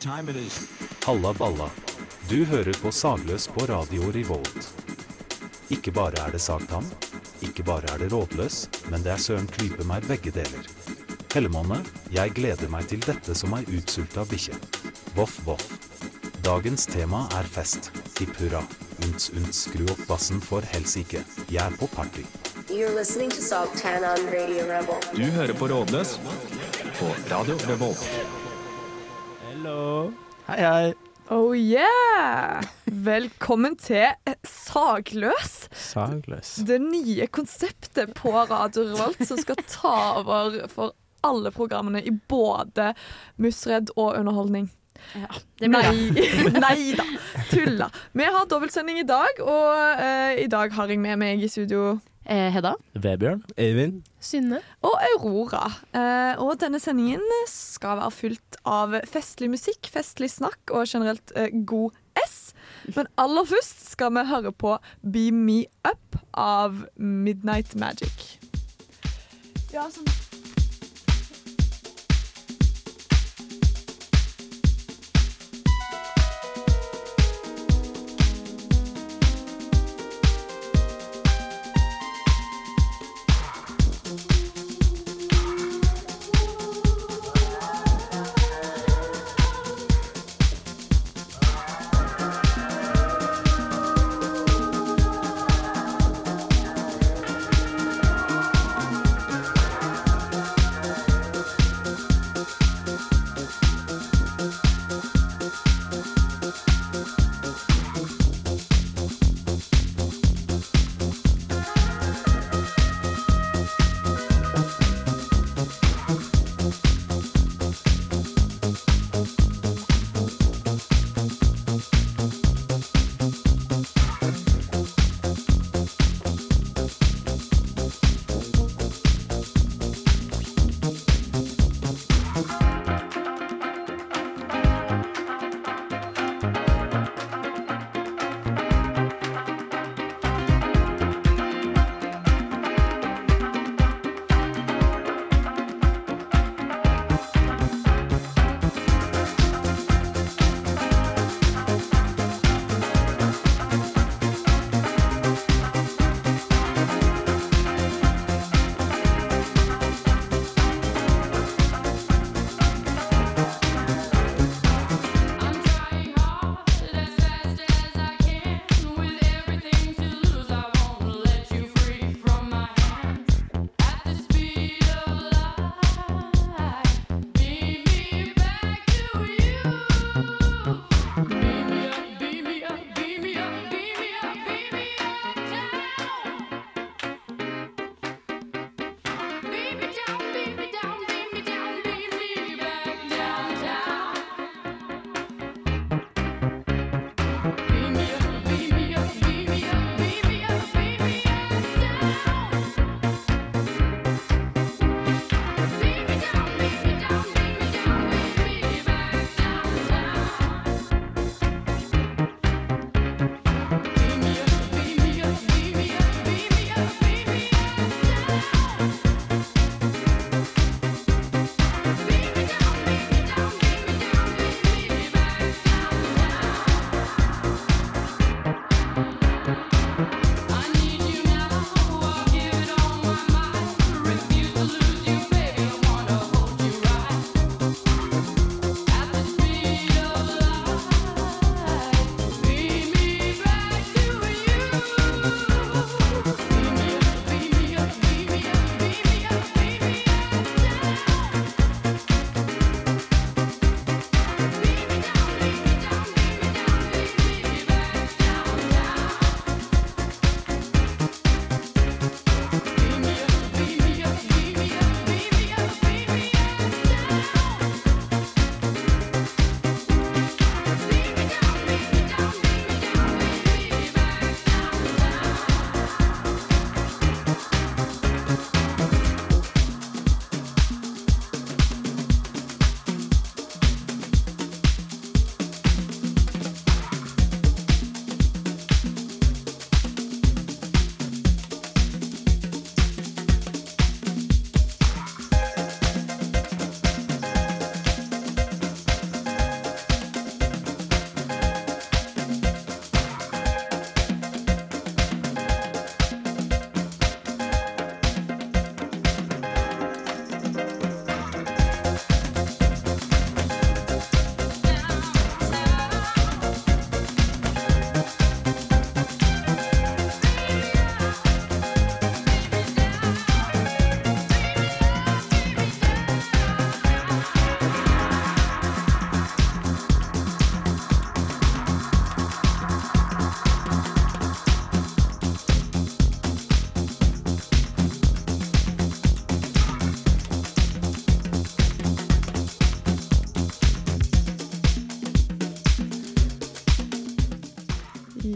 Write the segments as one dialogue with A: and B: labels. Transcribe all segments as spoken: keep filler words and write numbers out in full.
A: time it is.
B: Halla balla. Du hører på Sagløs på Radio Revolt. Ikke bare er det sagtann, ikke bare er det rådløs, men det er søren klype meg begge deler. Hellemåne, jeg gleder meg til dette som ei utsulta bikkje. Voff, voff. Dagens tema er fest. Hipp hurra. Unts, unts, skru opp bassen for helsike. Jeg er på party.
C: You're listening to Sagtann on Radio Revolt.
A: Du hører på Rådløs på Radio Revolt.
D: Hello. Hei, hei.
E: Oh yeah! Velkommen til Sagløs.
D: Sagløs.
E: Det nye konseptet på Radio Revolt som skal ta over for alle programmene i både Musredd og underholdning.
F: Ja, det blir
E: Nei, nei da, tulla. Vi har dobbeltsending i dag, og uh, i dag har jeg med meg i studio
F: eh, Hedda.
D: Vebjørn. Eivind.
F: Synne.
E: og Aurora. Uh, og denne sendingen skal være fylt av festlig musikk, festlig snakk og generelt uh, god S. Men aller først skal vi høre på Beam Me Up av Midnight Magic. Ja, sånn.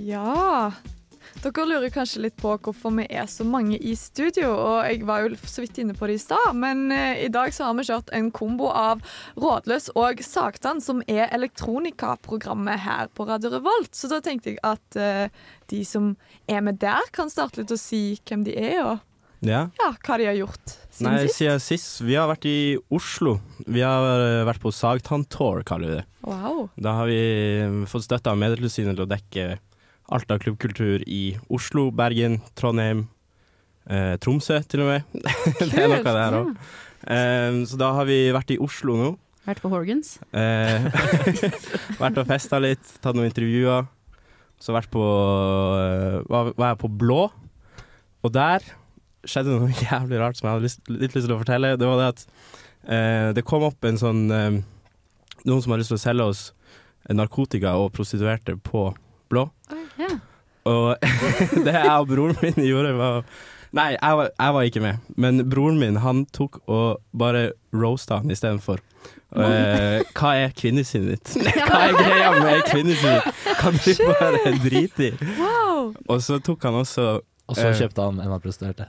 E: Ja, dere lurer kanskje litt på hvorfor vi er så mange i studio, og jeg var jo så vidt inne på det i stad, men eh, i dag så har vi kjørt en kombo av Rådløs og Sagtann, som er elektronikaprogrammet her på Radio Revolt. Så da tenkte jeg at eh, de som er med der kan starte litt og si hvem de er, og
D: Ja.
E: ja, hva de har gjort siden
D: Nei,
E: sist.
D: siden sist. Vi har vært i Oslo. Vi har eh, vært på Sagtann Tour, kaller vi det.
E: Wow.
D: Da har vi eh, fått støtte av Medietilsynet til å dekke alt av klubbkultur i Oslo, Bergen, Trondheim, eh, Tromsø til og med. Det er noe av det her også. Eh, så da har vi vært i Oslo nå.
F: Vært på Horgans.
D: Eh, vært og festet litt, tatt noen intervjuer. Så vært på, eh, var, var jeg på Blå, og der skjedde noe jævlig rart som jeg hadde lyst, litt lyst til å fortelle. Det var det at eh, det kom opp en sånn, eh, noen som har lyst til å selge oss narkotika og prostituerte på Blå.
F: Ja.
D: Og det jeg og broren min gjorde var Nei, jeg var, jeg var ikke med, men broren min han tok og bare roasta han i stedet for. Uh, hva er kvinnesynet ditt? Hva er greia med kvinnesynet ditt? Kan du bare drite i?
E: Wow.
D: Og så tok han også
G: Og så
D: eh,
G: kjøpte han en av prostituerte.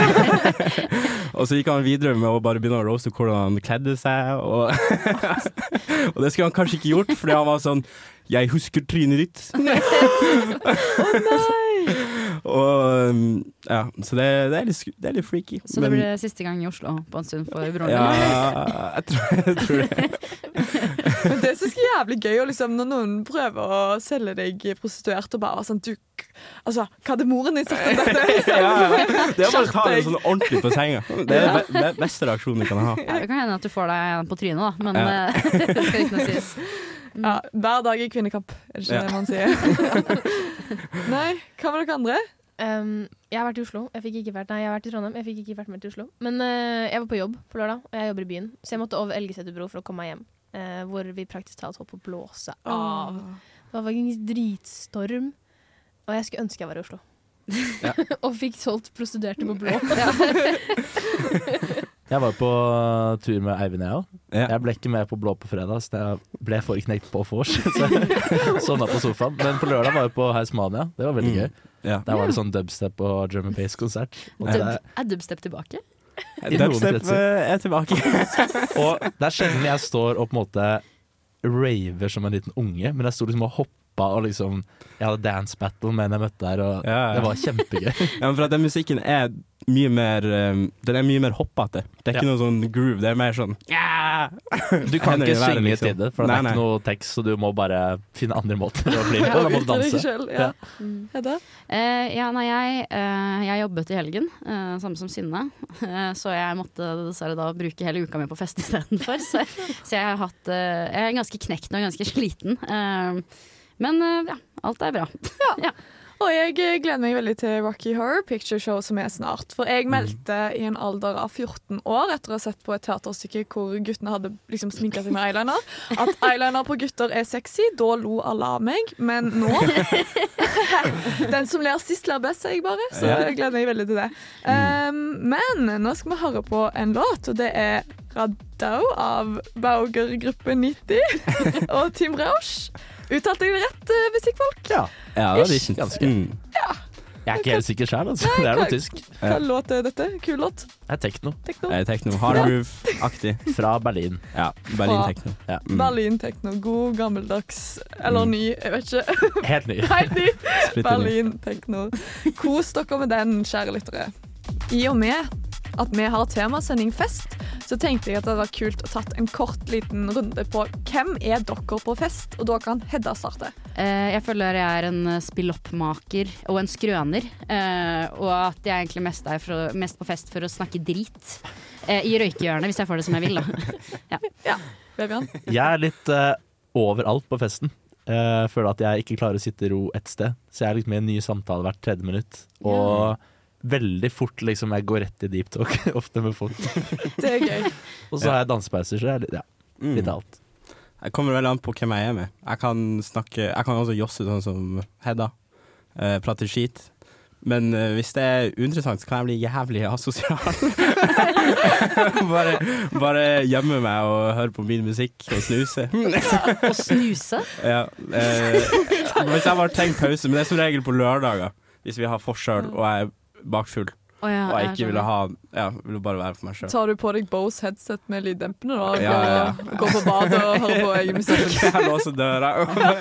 D: Og så gikk han videre med å bare begynne å roaste hvordan han kledde seg, og, og det skulle han kanskje ikke gjort, fordi han var sånn jeg husker trynet ditt.
E: Å nei!
D: Og um, ja, så det, det, er litt, sku- det er litt freaky.
F: Så det blir siste gang i Oslo på en stund for broren
D: Ja,
F: din.
D: jeg tror, jeg tror det.
E: Men det synes jeg er jævlig gøy, og liksom, når noen prøver å selge deg prostituert og bare sånn, du, altså, hva hadde moren din sagt om dette? Liksom?
D: Ja, ja. Det er bare å ta det
E: Skjerp deg.
D: sånn ordentlig på senga. Det er den be- be- beste reaksjonen du kan ha.
F: Ja, det kan hende at du får deg en på trynet, da, men
D: Ja.
F: eh, det skal ikke noe sies.
E: Ja, hver dag i kvinnekamp, er det ikke
D: Ja.
E: det man sier? Nei, hva med dere andre?
H: Um, jeg har vært i Oslo. Jeg fikk ikke vært, nei, jeg har vært i Trondheim. Jeg fikk ikke vært med til Oslo. Men eh, jeg var på jobb på lørdag, og jeg jobber i byen. Så jeg måtte over Elgeseterbro for å komme meg hjem. eh, hvor vi praktisk talt holdt på å blåse av. Det var faktisk dritstorm, og jeg skulle ønske jeg var i Oslo.
D: Ja.
H: Og fikk solgt prostituerte på blå.
G: Jeg var på tur med Eivind, jeg òg.
D: Ja.
G: Jeg ble ikke med på Blå på fredag, så jeg ble for knekt på vors. Så jeg sovna på sofaen. Men på lørdag var jeg på Heismania. Det var veldig
D: Mm.
G: gøy.
D: Ja.
G: Der var det sånn dubstep og drum and bass-konsert. Og,
F: Dub,
G: det-
F: er dubstep tilbake?
G: I noen
D: Dubstep
G: kretser.
D: eh, er tilbake.
G: og det er sjelden jeg står og på en måte raver som en liten unge, men jeg sto liksom og hoppa og liksom Jeg hadde dance battle med en jeg møtte der, og
D: Ja, ja.
G: det var kjempegøy.
D: Ja, men for at den musikken er mye mer um, Den er mye mer hoppete. Det er ikke
G: Ja.
D: noe sånn groove. Det er mer sånn yeah!
G: Du kan
D: Hender
G: ikke
D: i været,
G: synge
D: liksom.
G: til det, for det
D: Nei,
G: er
D: nei.
G: ikke noe tekst, så du må bare finne andre måter å bli
E: Ja,
G: på. Da må du
E: uttrykke deg
G: danse.
E: selv, ja. Hedda?
F: Eh, ja, nei, jeg, eh, jeg jobbet i helgen, eh, samme som Synne. Eh, så jeg måtte dessverre da bruke hele uka mi på fest istedenfor. Så, så jeg har hatt eh, Jeg er ganske knekt nå, ganske sliten. Eh, men eh, ja, alt er bra. Ja.
E: Og jeg eh, gleder meg veldig til Rocky Horror Picture Show som er snart. For jeg meldte i en alder av fjorten år etter å ha sett på et teaterstykke hvor guttene hadde liksom sminket seg med eyeliner, at eyeliner på gutter er sexy. Da lo alle av meg. Men nå den som ler sist, ler best, sier jeg bare. Så
D: Ja.
E: jeg gleder meg veldig til det. Um, men nå skal vi høre på en låt, og det er Radau av Bauger-gruppe nitti og Tim Rausch. Uttalte jeg det rett, eh, musikkfolk?
G: Ja.
D: Ja, det er
G: Ish, ganske.
D: Mm.
G: Jeg er ikke helt sikker sjøl, altså. Det er noe tysk.
E: Hva låt er dette? Kul låt.
G: Det er tekno
E: Tekno.
D: Jeg er tekno. Hard groove-aktig.
G: fra Berlin.
D: Ja, Berlin-tekno.
G: Ja.
D: Mm.
E: Berlin-tekno. God, gammeldags eller
D: Mm.
E: ny, jeg vet ikke.
G: Helt ny.
E: Helt ny.
D: Splitter ny.
E: Berlin-tekno. Kos dere med den, kjære lyttere. I og med at vi har temasending fest, så tenkte jeg at det var kult å tatt en kort liten runde på hvem er dere på fest, og da kan Hedda starte.
F: Eh, jeg føler jeg er en eh, spilloppmaker og en skrøner, eh, og at jeg egentlig mest er for, å- mest på fest for å snakke drit. Eh, I røykehjørnet, hvis jeg får det som jeg vil, da. Ja.
E: Vebjørn?
G: Jeg er litt eh, overalt på festen. Jeg føler at jeg ikke klarer å sitte i ro et sted. Så jeg er liksom i en ny samtale hvert tredje minutt. Og veldig fort liksom jeg går rett i deep talk, ofte med folk.
E: Det er gøy.
G: Og så har jeg dansepauser, så jeg er litt, ja,
D: Mm.
G: litt av alt.
D: Jeg kommer veldig an på hvem jeg er med. Jeg kan snakke Jeg kan også josse sånn som Hedda. Eh, prate skit. Men uh, hvis det er uinteressant, så kan jeg bli jævlig asosial. bare, bare gjemme meg og høre på min musikk og snuse.
F: Og snuse?
D: Ja. Uh, hvis jeg bare trenger pause, men det er som regel på lørdager, hvis vi har forskjell og jeg er bakfull.
F: Oh, ja,
D: og jeg ikke ville ha Ja, ville bare være for meg selv.
E: Tar du på deg Bose headset med lyddempende da?
D: Ja, ja.
E: Går på badet og hører på egen musikk?
D: Jeg låser døra.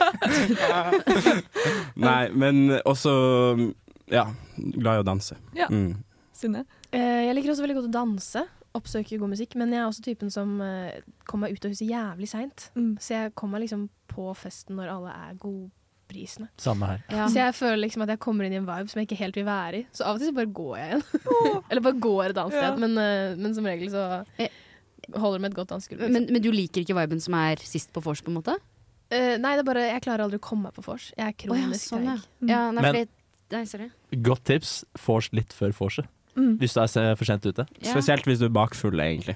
D: Nei, men også ja, glad i å danse.
E: Ja.
D: Mm.
E: Sinne?
H: Eh, jeg liker også veldig godt å danse. Oppsøke god musikk. Men jeg er også typen som eh, kommer meg ut av huset jævlig sent.
E: Mm.
H: Så jeg kommer liksom på festen når alle er gode. Prisene.
G: Samme her.
H: Ja. Så jeg føler liksom at jeg kommer inn i en vibe som jeg ikke helt vil være i. Så av og til så bare går jeg igjen. Eller bare går et annet sted.
E: Ja.
H: Men, uh, men som regel så holder det med et godt dansegulv. Liksom.
F: Men, men du liker ikke viben som er sist på vors, på en måte?
H: Uh, nei, det er bare jeg klarer aldri å komme meg på vors. Jeg er kronisk
F: oh, ja, sånn, ja.
H: treig.
F: Ja, nei,
G: Men-
F: fordi Nei, sorry.
G: Godt tips, vors litt før vorset.
E: Mm.
G: Hvis du er se- for sent ute.
F: Ja.
D: Spesielt hvis du er bakfull, egentlig.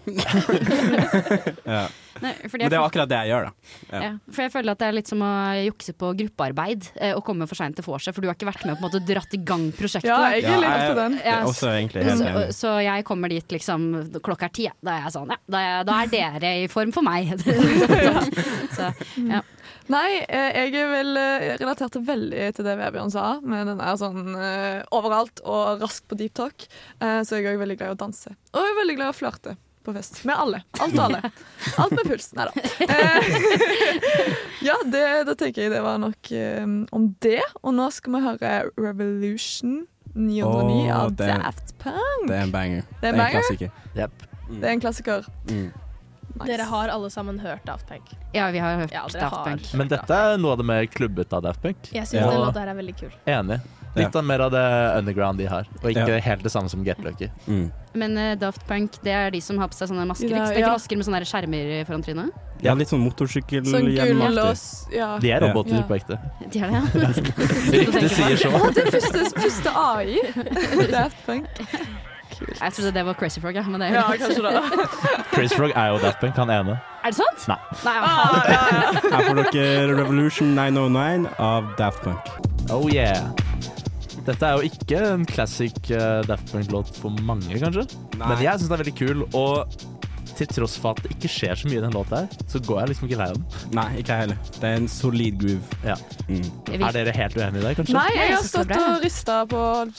D: ja.
F: Nei, fordi
D: Men
F: jeg
D: det er akkurat det jeg gjør, da. Ja.
F: Ja, for jeg føler at det er litt som å jukse på gruppearbeid eh, og komme for sent til vorset, for du har ikke vært med og på en måte dratt i gang prosjektet.
E: Ja, jeg er litt
D: Ja,
E: opp på den.
D: Jeg er også egentlig helt
F: så,
D: enig.
F: så jeg kommer dit liksom klokka er ti. Da er jeg sånn, ja, da er, da er dere i form for meg. så, ja.
E: Nei, eh, jeg er vel eh, relatert veldig til det Vebjørn sa, med den er sånn eh, overalt og rask på deep talk. Eh, så jeg er også veldig glad i å danse. Og jeg er veldig glad i å flørte på fest. Med alle. Alt og alle. Alt med puls. Neida. Eh, ja, det, det tenker jeg det var nok eh, om det. Og nå skal vi høre Revolution ni hundre ni
D: Åh,
E: av
D: det er-
E: Daft Punk.
D: Det er en banger.
E: Det er en banger?
D: klassiker.
G: Yep.
D: Mm.
E: Det er en klassiker.
D: Mm.
E: Nice.
H: Dere har alle sammen hørt Daft Punk.
F: ja, vi har hørt
H: Ja, dere
F: Daft
H: har.
F: Punk.
G: Men dette er noe av det mer klubbet av Daft Punk.
H: Jeg syns
D: Ja.
H: den låta her er veldig kul.
G: Enig. Litt av mer av det underground de har, og ikke
D: Ja.
G: helt det samme som Get Lucky.
D: Mm.
F: Men eh, Daft Punk, det er de som har på seg sånne masker.
E: Ja,
F: ikke? Det er
E: ja.
F: ikke masker med sånne der skjermer foran trynet?
D: Ja, litt sånn
E: Sånn
D: motorsykkelhjelmaktig.
E: gull og s- ja.
G: De er roboter
E: Ja.
G: på ekte.
F: De er det, ja.
G: Ryktet sier så.
E: Å, det er første, første A I. Daft Punk.
F: Jeg trodde det var Crazy Frog, ja. Men det er,
E: Ja, kanskje det.
G: Chris Frog er jo Daft Punk, han ene.
F: er det sant?
G: Nei.
F: Nei ja, faen.
D: Her får dere Revolution ni null ni av Daft Punk.
G: Oh yeah. Dette er jo ikke en classic uh, Daft Punk-låt for mange, kanskje.
D: Nei.
G: Men jeg syns den er veldig kul, og til tross for at det ikke skjer så mye i den låta her, så går jeg liksom ikke lei av den.
D: Nei, ikke jeg heller. Det er en solid groove.
G: Ja.
D: Mm.
F: Jeg vil-
G: Er dere helt uenige i det, kanskje?
E: Nei, jeg
F: Jeg
E: har
F: synes det er
E: stått
F: bra.
E: og rista på holdt på å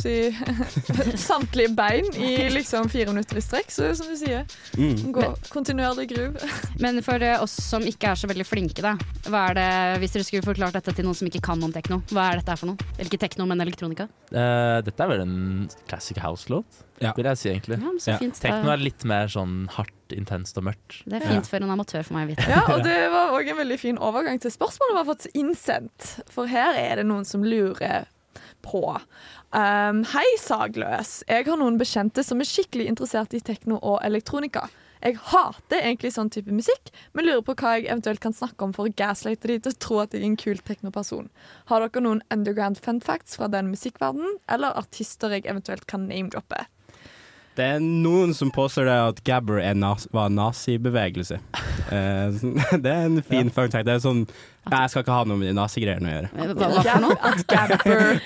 E: si, samtlige bein i liksom fire minutter i strekk, så som du sier.
D: Mm.
E: Gå kontinuerlig groove.
F: Men for eh, oss som ikke er så veldig flinke, da. Hva er det, hvis dere skulle forklart dette til noen som ikke kan om tekno, hva er dette her for noe? Eller ikke tekno, men elektronika?
G: Eh, dette er vel en classic house-låt,
D: Ja.
G: vil jeg si egentlig.
F: Ja, men så
D: Ja.
F: fint.
G: Tekno
F: Da-
G: er litt mer sånn hardt, intenst og mørkt.
F: Det er fint for en amatør for meg å vite.
E: Ja, og det var òg en veldig fin overgang til spørsmålet vi har fått innsendt. For her er det noen som lurer på. Um, Hei, Sagløs. Jeg har noen bekjente som er skikkelig interessert i tekno og elektronika. Jeg hater egentlig sånn type musikk, men lurer på hva jeg eventuelt kan snakke om for å gaslighte de til å tro at jeg er en kul teknoperson. Har dere noen underground fun facts fra den musikkverdenen, eller artister jeg eventuelt kan name-droppe?
D: Det er noen som påstår det at Gabber er nas var en nazibevegelse. Eh, det er en fin fun fact. Det er sånn Nei, jeg skal ikke ha noe med de nazigreiene å gjøre.
F: Hva, hva for noe?
E: At Gabber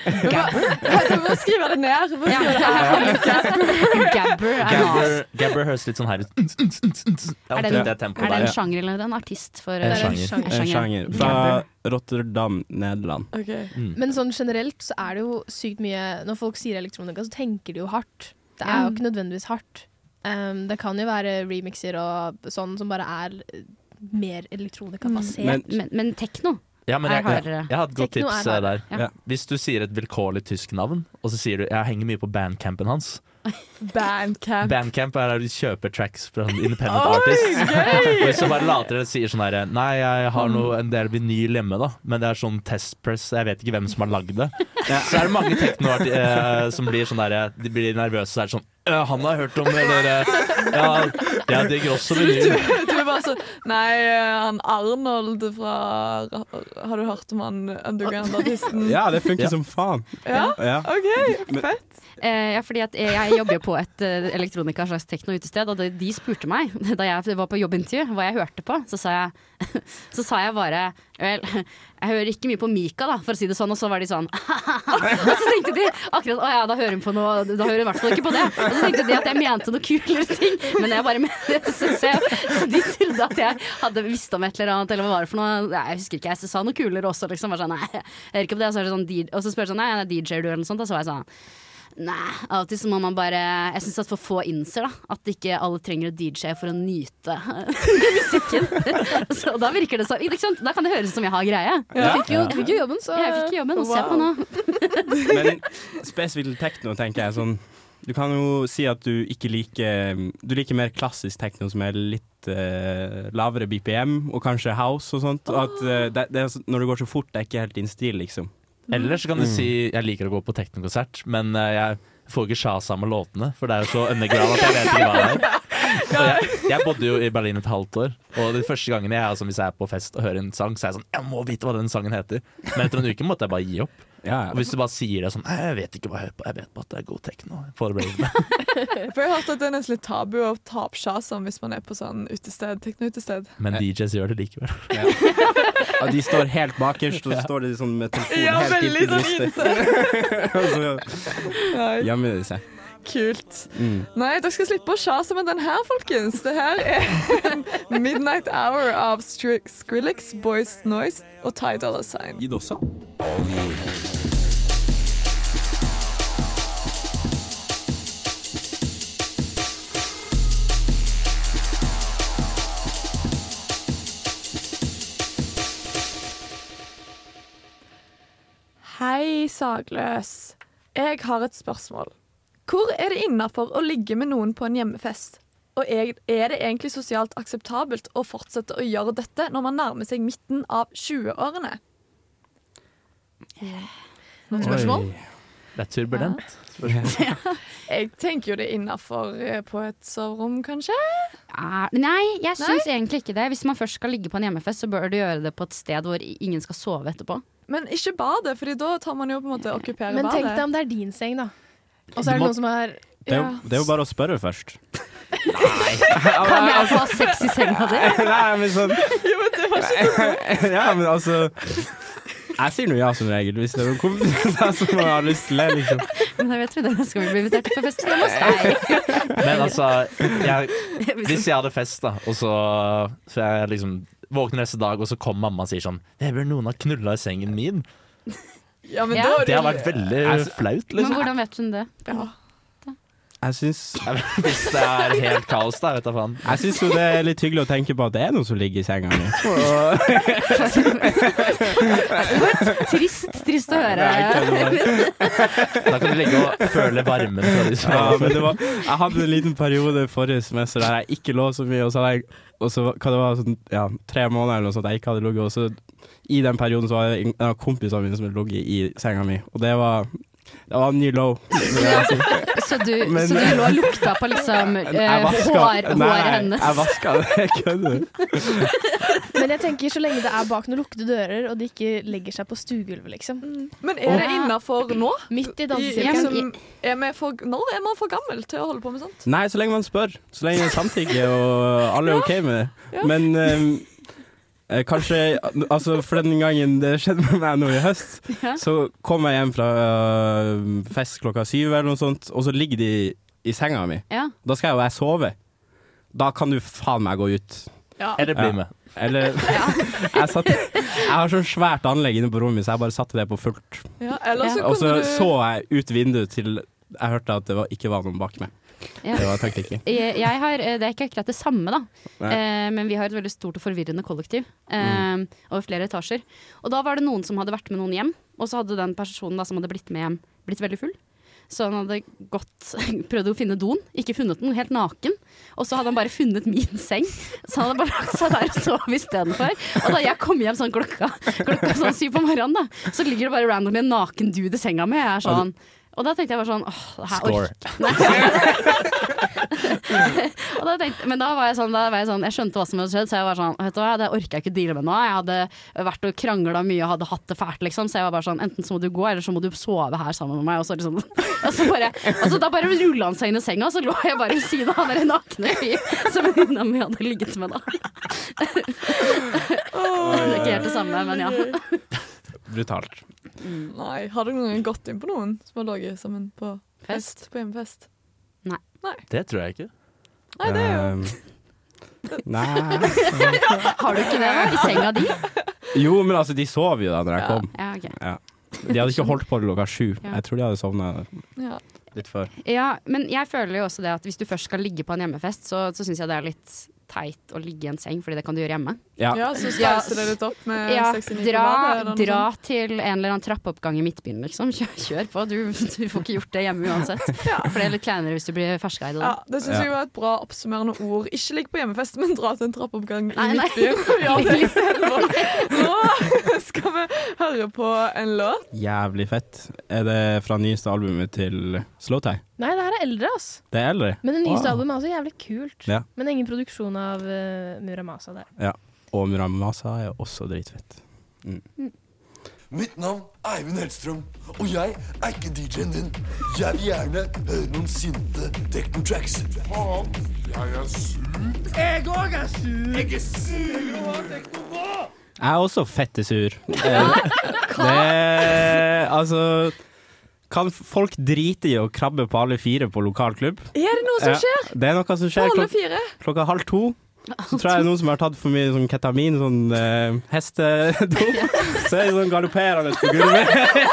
E: Du må skrive det ned. Du må skrive det her.
F: Gabber er,
G: Gabber, Gabber høres litt sånn her ut. Det er
F: Er det
G: omtrent
F: en-
G: det
F: er
G: tempoet
F: det en
G: der.
F: sjanger eller en artist? For,
G: En
F: eh,
G: sjanger.
F: En
D: En sjanger fra
F: Gabber.
D: Rotterdam, Nederland.
E: Okay.
G: Mm.
H: Men sånn generelt så er det jo sykt mye Når folk sier elektronika, så tenker de jo hardt. Det er jo ikke nødvendigvis hardt. Um, det kan jo være remixer og sånn som bare er eh, mer elektronika-basert.
D: Men-
F: men, men tekno
G: Ja, men
F: er
G: jeg, jeg,
F: hardere.
G: jeg har et godt
H: Tekno
G: tips
H: er
G: eh, der.
F: Ja.
D: Ja.
G: Hvis du sier et vilkårlig tysk navn, og så sier du 'jeg henger mye på bandcampen hans'.
E: Bandcamp.
G: Bandcamp er der du kjøper tracks fra en independent
E: Oi,
G: artist.
E: gøy!
G: Og hvis du bare later eller sier sånn her 'nei, jeg har noe, en del vinyl hjemme', da, men det er sånn testpress, jeg vet ikke hvem som har lagd det. Så er det mange teknoarter eh, som blir sånn der, de blir nervøse, så er det sånn «Øh, 'han har hørt om', eller eh, 'ja, jeg digger også
E: Så du, du,
G: vinyl'.
E: du er bare Altså, nei, han Arnold fra Har du hørt om han underground-artisten?
D: Ja, det funker
G: Ja.
D: som faen.
E: Ja?
D: Ja.
E: OK, fett.
F: Eh, ja, fordi at jeg jobber jo på et uh, elektronika slags tekno-utested, og de, de spurte meg da jeg var på jobbintervju hva jeg hørte på. Så sa jeg, så sa jeg bare vel, jeg hører ikke mye på Mika, da, for å si det sånn. Og så var de sånn og så tenkte de akkurat å ja, da hører hun på noe, da hører hun i hvert fall ikke på det. Og så tenkte de at jeg mente noe kulere ting, men jeg bare mente så, så, så de trodde at jeg hadde visst om et eller annet, eller hva var det for noe. Jeg husker ikke, jeg sa noe kulere også, liksom. Var sånn, nei, jeg hører ikke på det. Og så, er det sånn, og så spør jeg sånn, nei, er D J-er du, eller noe sånt? Og så var jeg sånn nei, av og til så må man bare Jeg synes at for få innser da at ikke alle trenger å D J for å nyte musikken. Så da virker det så ikke sant? Da kan det høres ut som jeg har greie.
H: Du fikk jo, du fikk jo jobben, så
F: Jeg fikk jobben, og se på nå.
D: Men spesifikt tekno, tenker jeg sånn. Du kan jo si at du ikke liker Du liker mer klassisk tekno som er litt uh, lavere B P M, og kanskje house og sånt. Og at uh, det, det er, når det går så fort, det er ikke helt din stil, liksom.
G: Eller så kan du si jeg liker å gå på teknokonsert, men uh, jeg får ikke sjasa med låtene, for det er jo så underground at jeg vet ikke hva det er. Og jeg, jeg bodde jo i Berlin et halvt år, og de første gangene jeg, altså, hvis jeg er på fest og hører en sang, så er jeg sånn jeg må vite hva den sangen heter. Men etter en uke måtte jeg bare gi opp.
D: Ja,
G: Og hvis du bare sier det sånn jeg vet ikke hva jeg hører på, jeg vet bare at det er god tekno. For
E: For jeg har hørt at det er nesten litt tabu å ta opp sjasen hvis man er på sånn utested, tekno-utested.
G: Men D Js gjør det likevel.
D: Ja. Og de står helt bakerst, og så står de sånn med telefonen
E: Ja,
D: helt
E: veldig
D: inntil
E: sånn
D: brystet. Og så
E: Nei,
D: gjemmer de seg.
E: kult.
D: Mm.
E: Nei, dere skal slippe å sjase med den her, folkens. Det her er Midnight Hour av Stri- Skrillex, Boys Noise og Ty Dolla Sign.
D: Gitt også.
E: Hei, Sagløs. Jeg har et spørsmål. Hvor er det innenfor å ligge med noen på en hjemmefest? Og er er det egentlig sosialt akseptabelt å fortsette å gjøre dette når man nærmer seg midten av tjueårene?
H: Noen spørsmål?
G: Det er turbulent.
E: Jeg tenker jo det er innenfor eh, på et soverom, kanskje?
F: Ja, nei, jeg syns egentlig ikke det. Hvis man først skal ligge på en hjemmefest, så bør du gjøre det på et sted hvor ingen skal sove etterpå.
E: Men ikke badet, Fordi da tar man jo på en måte okkupere
H: Men tenk
E: badet.
H: deg om det er din seng, da. Og så er det
G: Du må-
H: noen som er
D: Det er, jo,
E: Ja.
D: det er jo bare å spørre først.
F: Kan jeg få ha sex i senga di?
D: Nei, men sånn
E: Jo, men det var ikke
D: Ja, men altså jeg sier noe ja som regel, hvis det er noen kompiser som har lyst til det, liksom.
F: Men jeg vet vi det skal vi bli invitert til på fest hjemme hos deg.
G: Men altså, jeg, hvis jeg hadde fest, da, og så, så jeg liksom våkner neste dag, og så kommer mamma og sier sånn det bør noen ha knulla i sengen min.
E: Ja, men
F: Ja.
E: da er
G: Det har
E: jo-
G: vært veldig
D: Altså,
G: flaut,
F: Men
G: liksom.
F: hvordan vet hun det?
E: ja.
D: Jeg syns
G: Hvis det er helt kaos, da, vet jeg faen.
D: Jeg syns jo det er litt hyggelig å tenke på at det er noen som ligger i senga mi.
F: Trist, trist å høre.
G: Da kan du ligge og føle varmen fra de som
D: Ja, men det var, jeg hadde en liten periode forrige semester der jeg ikke lå så mye, og så hadde jeg og så, hva det var, sånn, ja, tre måneder eller noe sånt jeg ikke hadde ligget, og så i den perioden så var det en av kompisene mine som hadde ligget i senga mi, og det var det var en ny low. vil jeg si.
F: Så du,
D: Men-
F: så du lå og lukta på liksom eh,
D: Jeg vaska-
F: hår,
D: Nei,
F: håret hennes?
D: jeg vaska det, jeg kødder.
H: Men jeg tenker så lenge det er bak noen lukkede dører, og de ikke legger seg på stuegulvet, liksom.
E: Men er det
F: Ja.
E: innenfor nå?
H: Midt i
E: I,
H: dansesirkelen.
E: liksom, er vi for, når er man for gammel til å holde på med sånt?
D: Nei, så lenge man spør. Så lenge det er samtykke og alle er OK med det.
E: Ja.
D: Men ehm, eh, kanskje altså for den gangen det skjedde med meg nå i høst,
F: Ja.
D: så kom jeg hjem fra øh, fest klokka syv eller noe sånt, og så ligger de i senga mi.
F: Ja.
D: Da skal jo jeg sove. Da kan du faen meg gå ut.
E: Ja.
G: Eller bli
D: Ja.
G: med.
D: Eller jeg, satt, jeg har sånn svært anlegg inne på rommet mitt, så jeg bare satte det på fullt.
E: Ja, eller så
F: Ja.
D: Og så
E: kunne du
D: så jeg ut vinduet til jeg hørte at det var, ikke var noen bak meg.
F: Ja.
D: Det var taktikken.
F: Jeg, jeg har, det er ikke akkurat det samme, da.
D: Nei.
F: Eh, men vi har et veldig stort og forvirrende kollektiv eh, over flere etasjer. Og da var det noen som hadde vært med noen hjem, og så hadde den personen da, som hadde blitt med hjem, blitt veldig full. Så han hadde gått, prøvd å finne doen, ikke funnet den, helt naken. Og så hadde han bare funnet min seng, så han hadde bare lagt seg der og sov istedenfor. Og da jeg kom hjem sånn klokka, klokka sånn syv på morgenen, da, så ligger det bare randomly en naken dude i senga mi. Jeg er sånn Og da tenkte jeg bare sånn åh, det her
D: Score.
F: og da tenkte, men da var jeg sånn, da var jeg sånn Jeg skjønte hva som hadde skjedd, så jeg var sånn vet du hva, det orker jeg ikke deale med nå. Jeg hadde vært og kranglet mye og hadde hatt det fælt, liksom. Så jeg var bare sånn enten så må du gå, eller så må du sove her sammen med meg. Og så liksom og så bare, altså, da bare rullet han seg inn i senga, og så lå jeg bare ved siden av han der nakne fyr som venninna mi hadde ligget med da. Det er ikke helt det samme, men ja.
D: Brutalt.
E: Mm. Nei, har du noen gang gått inn på noen som har ligget sammen på fest? På hjemmefest?
F: Nei.
E: Nei.
G: Det tror jeg ikke.
E: Nei, det er jo
D: Um, Nei.
F: Har du ikke det da, i senga di?
D: Jo, men altså, de sov jo da når jeg
E: Ja.
D: kom.
F: Ja, ok.
D: Ja. De hadde ikke holdt på til klokka sju.
F: Ja.
D: Jeg tror de hadde sovnet
E: ja.
D: litt før.
F: Ja, men jeg føler jo også det at hvis du først skal ligge på en hjemmefest, så, så synes jeg det er litt teit å ligge i en seng, fordi det kan du gjøre hjemme.
D: Ja.
E: ja, så spleiser det litt opp med
F: Ja,
E: sekstini
F: dra,
E: på badet, eller noe
F: dra
E: sånt.
F: til en eller annen trappeoppgang i Midtbyen, liksom. Kjør, kjør på. Du, du får ikke gjort det hjemme uansett. For det er litt kleinere hvis du blir ferskeid.
E: Ja, det synes
D: Ja.
E: jeg var et bra oppsummerende ord. Ikke ligg på hjemmefest, men dra til en trappeoppgang i
F: Nei, nei.
E: Midtbyen. Ja, det er istedenfor. Nå skal vi høre på en låt.
D: Jævlig fett. Er det fra nyeste albumet til Slowtie?
H: Nei, det her er eldre, ass.
D: Det er eldre.
H: Men det nyeste
D: Wow.
H: albumet er også jævlig kult.
D: Ja.
H: Men ingen produksjon av uh, Muramasa der.
D: Ja. Og Muramasa er også dritfett.
I: Mitt navn er Eivind Hellstrøm, og jeg er ikke D J-en din. Jeg vil gjerne høre noen sinte techno-tracks. Faen, jeg er sur. Jeg òg er sur. Jeg er sur.
D: Jeg er også fettesur. Eh, det Altså kan folk drite i å krabbe på alle fire på lokal klubb?
E: Er det noe som
D: Ja,
E: skjer?
D: det er noe som skjer
E: Alle
D: klok
E: fire?
D: klokka halv to. Så tror jeg det er noen som har tatt for mye sånn ketamin, sånn eh, hestedop. Så er det sånn galopperende på gulvet.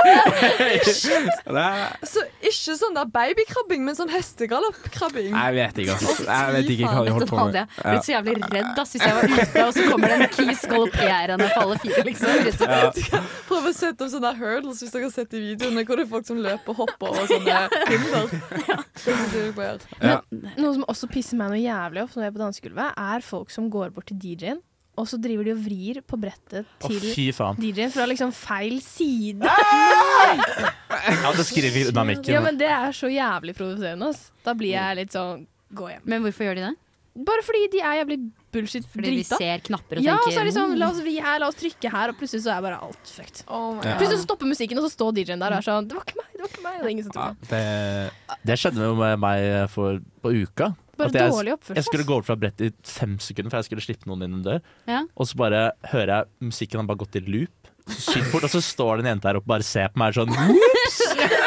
D: Det er-
E: Så ikke sånn der babykrabbing, men sånn hestegaloppkrabbing.
D: Jeg vet ikke, altså. Jeg vet ikke hva de holdt på
F: Jeg
D: med.
F: ble så jævlig redd ass, hvis jeg var ute, og så kommer det en kis galopperende på alle fire, liksom.
D: Ja.
E: Prøv å sette opp sånne hurdles hvis dere har sett i videoene, hvor det er folk som løper og hopper og sånne hinder. Det synes jeg dere bør gjøre.
D: Ja.
H: Noe som også pisser meg noe jævlig opp når jeg er på dansegulvet, er folk som går bort til D J-en, og så driver de og vrir på brettet
G: Å,
H: til
G: fy faen.
H: D J-en fra liksom feil side.
G: Ja, det skriver unna mikken.
H: Ja, men det er så jævlig provoserende, ass. Da blir jeg litt sånn, gå hjem.
F: Men hvorfor gjør de det?
H: Bare fordi de er jævlig bullshit
F: Fordi vi
H: drita.
F: ser knapper og
H: Ja, og så
F: tenker
H: er de sånn,
F: «Mm».
H: la oss vri her, la oss trykke her, og plutselig så er bare alt fucked.
E: Oh my
D: Ja.
E: God.
H: Plutselig så stopper musikken, og så står D J-en der og er sånn, det var ikke meg, det var ikke meg, og det er ingen som
D: Ja,
H: tror det.
D: det
G: Det skjedde jo med meg for, på uka.
H: Bare
G: At jeg,
H: dårlig oppførsel.
G: jeg skulle gå over fra brettet i fem sekunder, for jeg skulle slippe noen inn en dør.
F: Ja.
G: Og så bare hører jeg musikken har bare gått i loop. Så sykt fort, og så står det en jente her oppe og bare ser på meg sånn Whoops!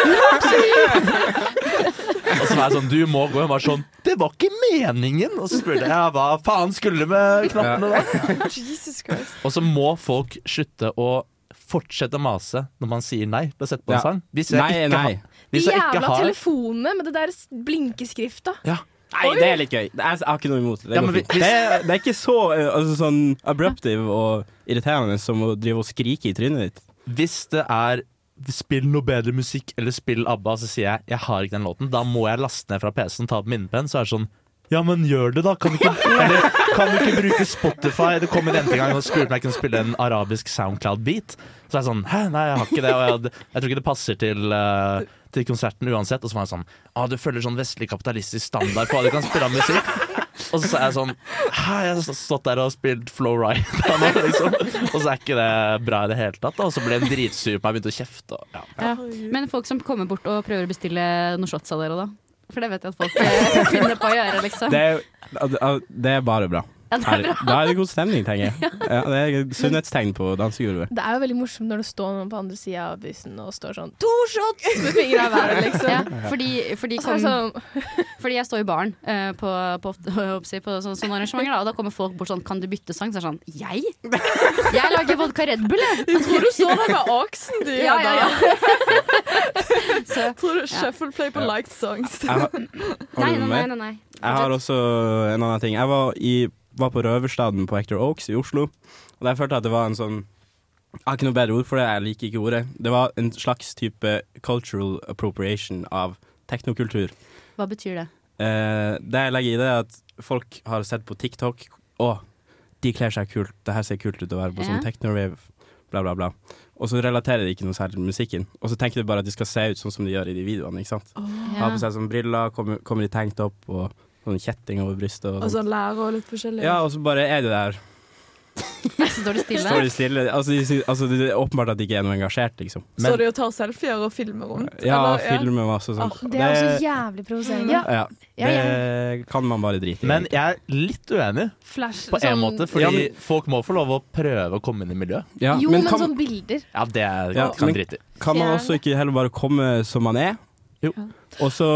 G: Og så var jeg sånn, du må gå. Og hun var sånn, det var ikke meningen. Og så spurte jeg, ja, hva faen skulle du med knappene da?
E: Jesus Christ.
G: Og så må folk slutte å fortsette å mase når man sier nei til å sette på en
D: Ja.
G: sang. Hvis jeg
D: Nei,
G: ikke
D: nei.
G: har,
H: De
G: hvis jeg ikke
H: jævla
G: har
H: telefonene med det der blinkeskrifta.
D: Nei, det er litt gøy. Jeg har ikke noe imot det. Det,
G: Ja,
D: går
G: men
D: fint.
G: hvis-
D: det, er, det er ikke så eh, altså, sånn abruptive og irriterende som å drive og skrike i trynet ditt.
G: Hvis det er spill noe bedre musikk eller spill ABBA, så sier jeg jeg har ikke den låten. Da må jeg laste ned fra P C-en, ta på minnepenn. Så er det sånn, ja, men gjør det da. Kan du ikke, eller, kan du ikke bruke Spotify? Det kom en jente en gang og spurte om jeg kunne spille en arabisk SoundCloud-beat. Så er jeg sånn, hæ, nei, jeg har ikke det. Og jeg, jeg tror ikke det passer til, uh, til konserten uansett. Og så var jeg sånn, ah, du følger sånn vestlig kapitalistisk standard på hva du kan spille av musikk. Og så er jeg sånn, hæ, jeg har stått der og spilt Flow Ride liksom. Og så er ikke det bra i det hele tatt da. Og så ble hun dritsur på meg og begynte å kjefte og, ja.
F: Ja. Men folk som kommer bort og prøver å bestille noen shots av dere da? For det vet jeg at folk eh, finner på å gjøre, liksom.
D: Det er, det er bare bra.
F: Ja, det er bra.
D: Da er det god stemning, tenker jeg. Ja, det er et sunnhetstegn på dansegulvet.
H: Det er jo veldig morsomt når det står noen på andre siden av bussen og står sånn, to shots med fingrene i været, liksom.
F: Ja, fordi, fordi,
H: Og så er det
F: kom,
H: sånn,
F: fordi jeg står i baren eh, på, på, på, på sånne, sånne arrangementer, da, og da kommer folk bort sånn, kan du bytte sang? Så er det sånn, jeg? Jeg lager vodka Red Bull, jeg.
E: Jeg tror du så det med Oxen, de.
F: Ja, ja, ja.
E: Så, jeg tror du shuffle play på liked songs.
D: Jeg har, har
F: Nei,
D: du
F: nei,
D: noe
F: nei,
D: mer?
F: nei, nei.
D: Jeg har også en annen ting. Jeg var, i, var på Røverstaden på Hector Oaks i Oslo, og der følte jeg at det var en sånn, jeg har ikke noe bedre ord for det, jeg liker ikke ordet. Det var en slags type cultural appropriation av teknokultur.
F: Hva betyr det?
D: Eh, det jeg legger i det er at folk har sett på TikTok, å, de kler seg kult, det her ser kult ut å være på
F: Ja.
D: sånn techno-rave. bla bla bla. Og så relaterer de ikke noe særlig til musikken. Og så tenker de bare at de skal se ut sånn som de gjør i de videoene, ikke sant?
E: Oh.
D: Ha på seg sånn briller, kommer, kommer de tenkt opp, og sånn kjetting over brystet. Og,
E: og sånn lærer og litt forskjellig.
D: Ja, og så bare er de der.
F: Så står de stille.
D: Står de stille. Altså, de, altså, det er åpenbart at de ikke er noe engasjert, liksom.
E: Men, så de og tar selfier og filmer rundt?
D: Ja,
E: eller,
D: filmer masse sånn.
H: Ah, det er også jævlig provoserende.
D: Ja. Ja, det ja, ja. kan man bare drite i.
G: Men jeg er litt uenig
H: Flash,
G: på en
H: sånn,
G: måte, fordi
D: ja, men,
G: folk må få lov å prøve å komme inn i miljøet.
H: Ja, jo, men, men
G: kan,
H: sånn bilder.
G: Ja, det er,
D: ja,
G: kan drite i.
D: Kan man også ikke heller bare komme som man er?
G: Jo.
D: Og så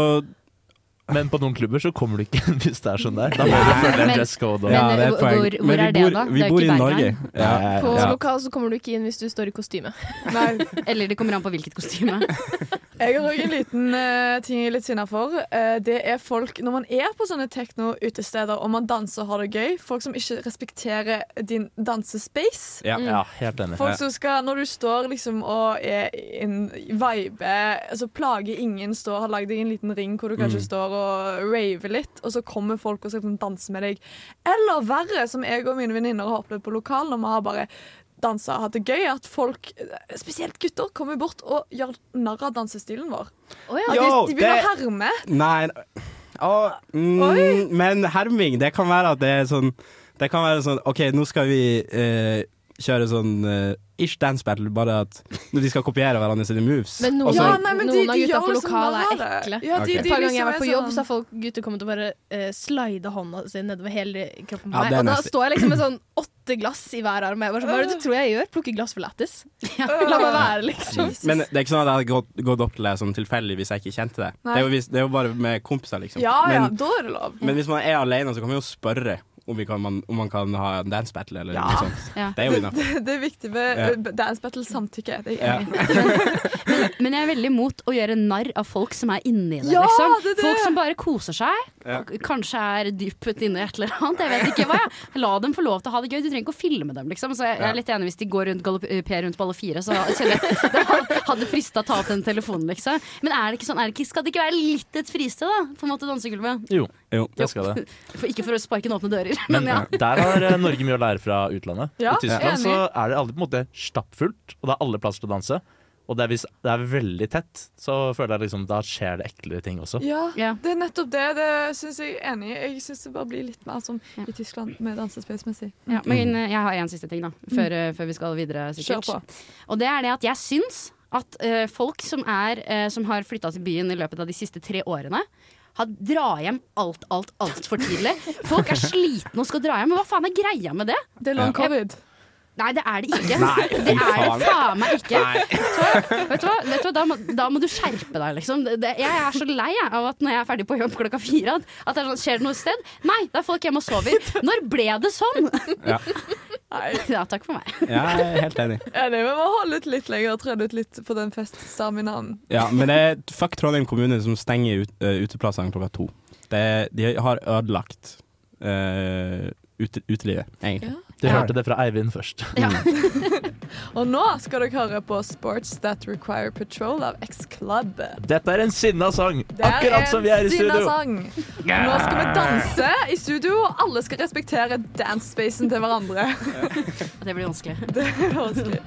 G: Men på noen klubber så kommer du ikke hvis det er sånn der. Da må du følge en dresscode.
F: Men, men hvor, hvor, hvor er det da?
D: Vi
F: det er
D: bor i
F: ikke
D: Norge.
H: Ja. På ja. lokal så kommer du ikke inn hvis du står i kostyme.
E: Nei.
F: Eller det kommer an på hvilket kostyme.
E: Jeg har også en liten uh, ting jeg er litt sinnet for. Uh, det er folk, når man er på sånne techno-utesteder og man danser og har det gøy, folk som ikke respekterer din dansespace.
G: Ja, mm. ja helt enig.
E: Folk som skal, når du står liksom og er en vibe, altså plager ingen, står, har lagd deg en liten ring hvor du kanskje mm. står og rave litt, og så kommer folk og skal danse med deg. Eller verre, som jeg og mine venninner har opplevd på lokal, når vi har bare dansa og hatt det gøy, at folk, spesielt gutter, kommer bort og gjør narr av dansestilen vår.
H: Oh, ja.
E: Yo, de, de begynner å herme.
D: Nei, oh, mm, men herming, det kan være at det er sånn, det kan være sånn, ok, nå skal vi eh, kjøre sånn uh, ish dance battle, bare at når de skal kopiere hverandre sine moves.
H: Men noen,
E: ja, nei, men
H: noen
E: de,
H: av gutta på
E: liksom
H: lokal er ekle.
E: Ja, de,
H: okay.
E: de,
H: Et par ganger
E: liksom
H: jeg har vært på jobb,
E: sånn.
H: så har folk gutter kommet og bare uh, slide hånda si nedover hele kroppen på
D: ja,
H: meg. Og da
D: nesten.
H: står jeg liksom med sånn åtte glass i hver arm. Jeg bare, hva er det du tror jeg gjør? Plukker glass for lættis. La meg være, liksom.
D: Men det er ikke sånn at jeg hadde gått, gått opp til det sånn tilfeldig hvis jeg ikke kjente det. Det er, jo, det er jo bare med kompiser, liksom.
E: Ja, ja,
D: men,
E: da er det lov.
D: Men hvis man er alene, så kan man jo spørre om, vi kan, man, om man kan ha en dance battle eller
E: ja.
D: noe sånt. Ja. Det er jo innenfor.
E: Det, det er viktig med ja. dance battle samtykke. Det er jeg
F: ja. men, men jeg er veldig imot å gjøre narr av folk som er inni det,
E: ja,
F: liksom.
E: det, det.
F: Folk som bare koser seg. Ja. Kanskje er dypet inne i et eller annet. Jeg vet ikke hva. Jeg. La dem få lov til å ha det gøy. Du trenger ikke å filme dem, liksom. Så jeg, jeg er litt enig hvis de går rundt galopper rundt på alle fire, så kjenner jeg det hadde frista å ta opp den telefonen, liksom. Men er det ikke sånn, er det ikke, skal det ikke være litt et fristed, da? På en måte dansegulvet?
G: Jo, jo, det skal det.
F: For, ikke for å sparke inn åpne dører,
G: men,
F: men ja.
G: Der har Norge mye å lære fra utlandet.
E: Ja,
G: I Tyskland så er det aldri på en måte stappfullt, og det er alle plasser til å danse. Og det er hvis det er veldig tett, så føler jeg liksom da skjer det eklere ting også.
E: Ja,
F: ja.
E: det er nettopp det. Det syns jeg er enig i. Jeg syns det bare blir litt mer som ja. i Tyskland med dansespacemessig.
F: Ja, men jeg har en siste ting da, før, mm. før vi skal videre sikkert.
E: Kjør på.
F: Og det er det at jeg syns at uh, folk som, er, uh, som har flytta til byen i løpet av de siste tre årene, har dra hjem alt, alt, alt for tidlig. Folk er slitne og skal dra hjem, men hva faen er greia med det?
E: Det er long covid.
F: Nei, det er det ikke.
D: Nei,
F: det er det faen meg ikke.
D: Nei.
F: Vet du hva? Vet du hva? Da, må, da må du skjerpe deg, liksom. Det, jeg er så lei av at når jeg er ferdig på jobb klokka fire, at, at det er sånn, skjer det noe sted? Nei, da er folk hjemme og sover. Når ble det sånn?
D: Ja.
F: Ja, takk for meg.
D: Ja, jeg er helt enig.
E: Ja, det må holde ut litt lenger og trene ut litt på den feststaminaen.
D: Ja, men det er fuck Trondheim kommune som stenger ut, uh, uteplassene klokka to. Det, de har ødelagt uh, ute, utelivet, egentlig.
E: Ja.
G: Du hørte det fra Eivind først.
F: Ja.
E: Og nå skal dere høre på Sports That Require Patrol av X-Club.
G: Dette er en sinna sang, akkurat som vi er i studio.
E: Sang. Nå skal vi danse i studio, og alle skal respektere dance-spacen til hverandre.
F: Det blir vanskelig.
E: Det blir vanskelig.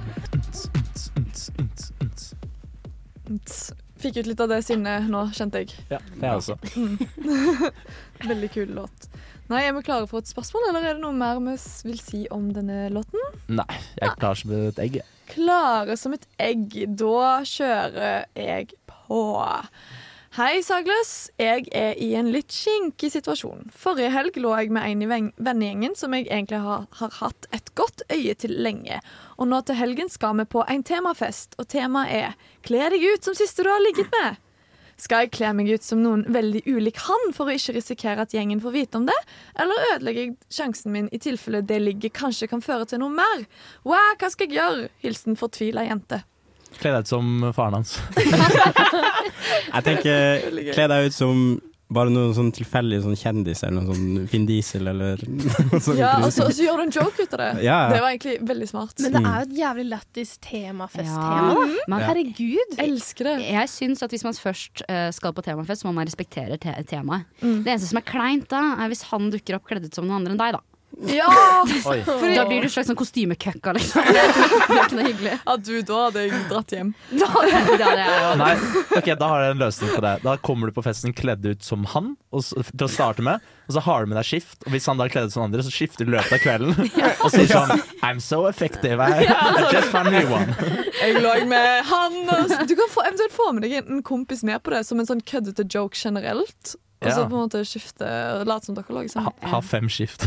E: Fikk ut litt av det sinnet nå, kjente jeg.
G: Ja, det er også.
E: Veldig kul låt. Nei, er vi klare for et spørsmål, eller er det noe mer vi vil si om denne låten?
G: Nei, jeg er klar som et egg.
E: Klare som et egg. Da kjører jeg på. Hei, Sagløs. Jeg er i en litt skinkig situasjon. Forrige helg lå jeg med en i vennegjengen som jeg egentlig har, har hatt et godt øye til lenge. Og nå til helgen skal vi på en temafest, og temaet er «Kle deg ut som siste du har ligget med». Skal jeg kle meg ut som noen veldig ulik han for å ikke risikere at gjengen får vite om det? Eller ødelegger jeg sjansen min i tilfelle det ligget kanskje kan føre til noe mer? Wow, hva skal jeg gjøre? Hilsen fortvilet jente.
G: Kle deg ut som faren hans.
D: Jeg tenker, kle deg ut som bare noen sånn tilfeldig sånn kjendis eller noen sånn Finn Diesel eller noe sånt.
E: Ja, og så, og så gjør du en joke ut av det.
D: Ja.
E: Det var egentlig veldig smart.
H: Men det er jo et jævlig lættis temafest-tema.
F: Ja.
H: Men herregud.
E: Jeg elsker det.
F: Jeg syns at hvis man først uh, skal på temafest, så må man respektere te temaet.
E: Mm.
F: Det eneste som er kleint da, er hvis han dukker opp kledd ut som noen andre enn deg, da.
E: Ja!
G: Oi.
E: Fordi,
F: Da blir du en slags sånn kostymekøkka, liksom. Det er ikke noe hyggelig.
E: at du da hadde jeg dratt hjem.
F: Da, ja, det er jo
G: Nei, ok, da har jeg en løsning på det. Da kommer du på festen kledd ut som han og så, til å starte med, og så har du med deg skift. Og hvis han da er kledd ut som andre, så skifter du i løpet av kvelden. Og sier sånn I'm so effective, I, I just found a new one.
E: Jeg lå med han og, Du kan få, eventuelt få med deg en kompis med på det, som en sånn køddete joke generelt. Og så
G: Ja.
E: på en måte skifte og late som dere lager sammen.
G: Ha, ha fem skift.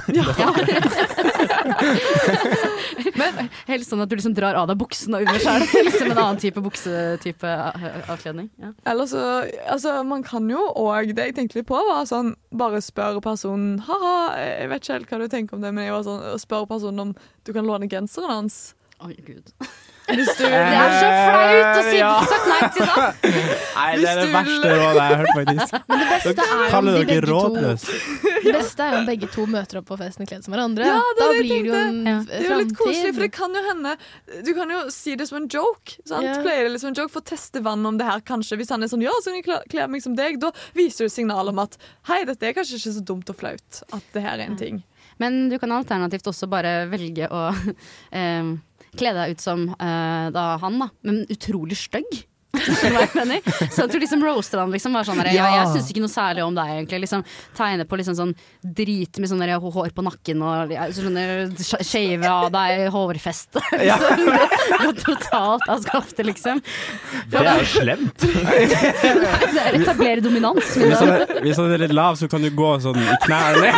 E: Men
F: helst sånn at du liksom drar av deg buksen og under selv. Liksom en annen type buksetype avkledning. Ja.
E: Eller så Altså, man kan jo òg Det jeg tenkte litt på, var sånn bare spørre personen Ha-ha, jeg vet ikke helt hva du tenker om det, men jeg var sånn å spørre personen om du kan låne genseren hans.
F: Oi, Gud.
E: Hvis du
F: Det er så flaut å si
D: Ja.
F: sagt nei til det.
D: Nei, det er det verste rådet jeg har hørt, faktisk.
H: Men det beste er jo om
D: Kaller
H: de
D: dere
H: begge to
D: rådløse?
H: Det beste er jo om begge to møter opp på festen kledd som hverandre.
E: Ja, det
H: da
E: er det jeg
H: blir det jo en
F: tenkte. Ja.
E: Det er jo litt koselig, for
H: framtid.
E: det kan jo hende Du kan jo si det som en joke. Sant?
H: Ja.
E: Pleier det litt som en joke For å teste vann om det her, kanskje. Hvis han er sånn, ja, så kan jeg kle- kle meg som deg, da viser du signal om at hei, dette er kanskje ikke så dumt og flaut. At det her er en ting.
F: Men du kan alternativt også bare velge å eh, kle deg ut som eh, da han, da. Men utrolig stygg. Skjønner du hva jeg mener? Så at du liksom roaster han liksom bare sånn der, ja, jeg synes ikke noe særlig om deg egentlig liksom tegne på liksom sånn drit med sånn der hår på nakken og ja, sånne shave av deg hårfeste liksom. Det går totalt av skaftet liksom.
G: Det er jo slemt.
F: Det er etablere dominans.
D: Hvis han, er, hvis han er litt lav, så kan du gå sånn i knærne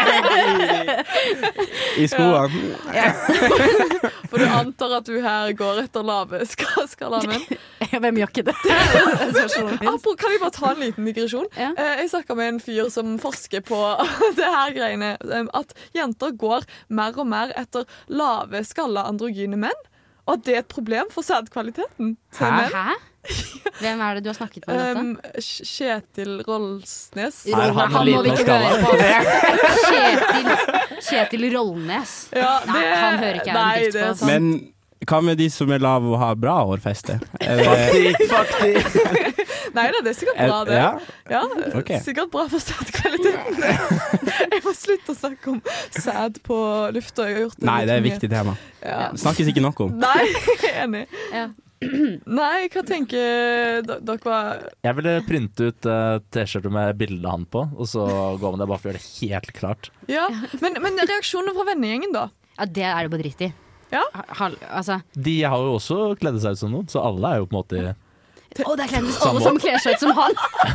D: i, i skoene.
E: For du antar at du her går etter lave ska- skalaen min.
F: Hvem gjør ikke det?
E: Apro- Kan vi bare ta en liten digresjon?
F: Ja.
E: Eh, Jeg snakket med en fyr som forsker på det her greiene, eh, at jenter går mer og mer etter lave skalla androgyne menn, og at det er et problem for sædkvaliteten til
D: Hæ?
E: menn.
F: Hæ? Hvem er det du har snakket med om
E: Um, Kj- Kjetil Rollsnes.
G: Er han
F: Han må vi
G: liten
F: ikke
G: og
F: høre på. Kjetil, Kjetil Rollnes.
E: Ja,
F: Nei, han hører ikke jeg en
E: nei,
F: dritt
E: det er
F: på.
E: sant.
D: Men hva med de som er lave og har bra hårfeste? Er det,
E: Nei da, det er sikkert bra, det.
D: ja?
E: Ja,
D: Ok.
E: Sikkert bra for sædkvaliteten. Jeg må slutte å snakke om sæd på lufta. Jeg har gjort det
D: Nei,
E: litt
D: det er et
E: mye.
D: viktig tema.
E: Ja.
D: Det snakkes ikke nok om.
E: Nei, jeg er enig.
F: Ja.
E: Nei, hva tenker d- dere var
G: Jeg ville printe ut uh, T-skjorte med bilde av han på, og så gå med det bare for å gjøre det helt klart.
E: Ja, men, men reaksjonen fra vennegjengen, da?
F: Ja, det er det bare dritt i.
E: Ja.
F: Ha, altså.
G: De har jo også kledd seg ut som noen, så alle er jo på en måte
F: Å, det er kledd ut alle som kler seg ut som han!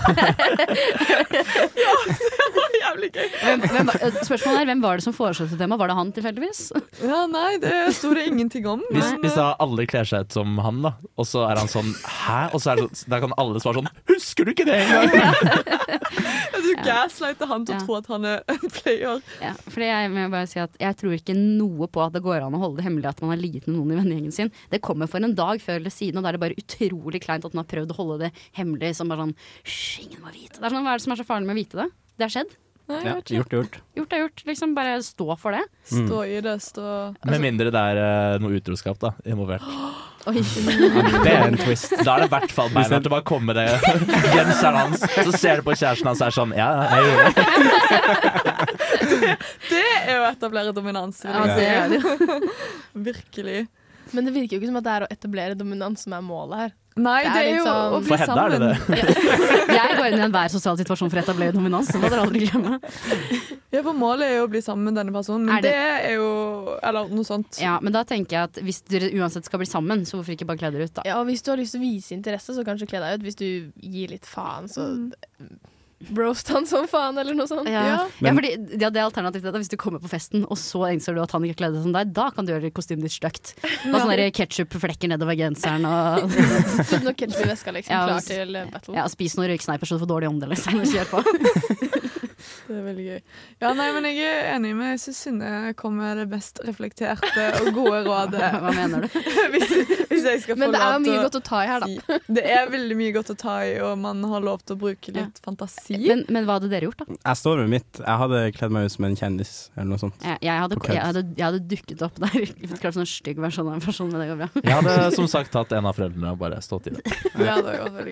E: Det var jævlig gøy.
F: Hvem, hvem, var- spørsmålet er, hvem var det som foreslo det temaet? Var det han tilfeldigvis?
E: Ja, nei, det sto det ingenting om.
G: Hvis,
E: Men,
G: hvis da alle kler seg ut som han, da, og så er han sånn hæ? Og så er det, da kan alle svare sånn husker du ikke det engang?
E: eh, du gaslighter han til å
F: Ja.
E: tro at han er en player.
F: Ja, fordi jeg, må bare si at jeg tror ikke noe på at det går an å holde det hemmelig at man har ligget med noen i vennegjengen sin. Det kommer for en dag før eller siden, og da er det bare utrolig kleint at man har prøvd å holde det hemmelig som bare sånn hysj, ingen må vite. Det er sånn, hva er det som er så farlig med å vite det? Det har skjedd.
E: Nei, jeg
D: Ja,
E: vet ikke.
D: gjort er gjort.
F: Gjort er gjort. Liksom bare stå for det.
E: Stå i det, stå
G: Med mindre det er eh, noe utroskap da, involvert.
F: Oi.
D: Det er en twist.
G: Da er det i hvert fall beina til å bare komme med det genseren hans, så ser du på kjæresten hans og er sånn ja, jeg gjorde det.
E: Det er jo å etablere dominans. vil
F: Ja,
E: jeg
F: det
E: si.
F: er det.
E: Virkelig.
H: Men det virker jo ikke som at det er å etablere dominans som er målet her.
E: Nei,
H: Det er
E: det er
H: litt
E: jo
H: sånn-
E: å bli
G: For Hedda er det
E: sammen.
G: det.
F: Jeg går inn i enhver sosial situasjon for å etablere dominans. Det må dere aldri glemme.
E: Ja, for målet er jo å bli sammen med denne personen, men
F: Er det-
E: det er jo Eller noe sånt.
F: Ja, men da tenker jeg at hvis dere uansett skal bli sammen, så hvorfor ikke bare kle dere ut, da?
H: Ja, og hvis du har lyst til å vise interesse, så kanskje kle deg ut. Hvis du gir litt faen, så
E: Mm.
H: roast han som faen, eller noe sånt.
F: Ja,
E: Ja.
F: ja
D: Men-
F: fordi ja, det er alternativt det, da. Hvis du kommer på festen, og så innser du at han ikke kledde seg som deg, da kan du gjøre kostymet ditt stygt. Og sånne ketsjup-flekker nedover genseren og
H: Så noe ketchup i veska, liksom,
F: Ja,
H: klar
F: s-
H: til eh, battle.
F: ja, spis noen røyksneiper så du får dårlig ånde, liksom. Kjør på.
E: Det er veldig gøy. Ja, nei, men jeg er enig med Jeg syns Synne kom med det mest reflekterte og gode rådet.
F: Hva mener du?
E: hvis, hvis jeg skal få
H: Men det er
E: lov
H: mye
E: til
H: godt å ta i her, da.
E: si. Det er veldig mye godt å ta i, og man har lov til å bruke litt fantasi.
F: Men, men hva hadde dere gjort, da?
D: Jeg står med mitt. Jeg hadde kledd meg ut som en kjendis, eller noe sånt.
F: Jeg, jeg, hadde,
D: På kødd.
F: jeg, hadde, jeg hadde dukket opp der. Klart sånn stygg versjon av en person, men det går bra.
G: Jeg hadde som sagt tatt en av foreldrene og bare stått i det.
E: Ja, det var veldig gøy.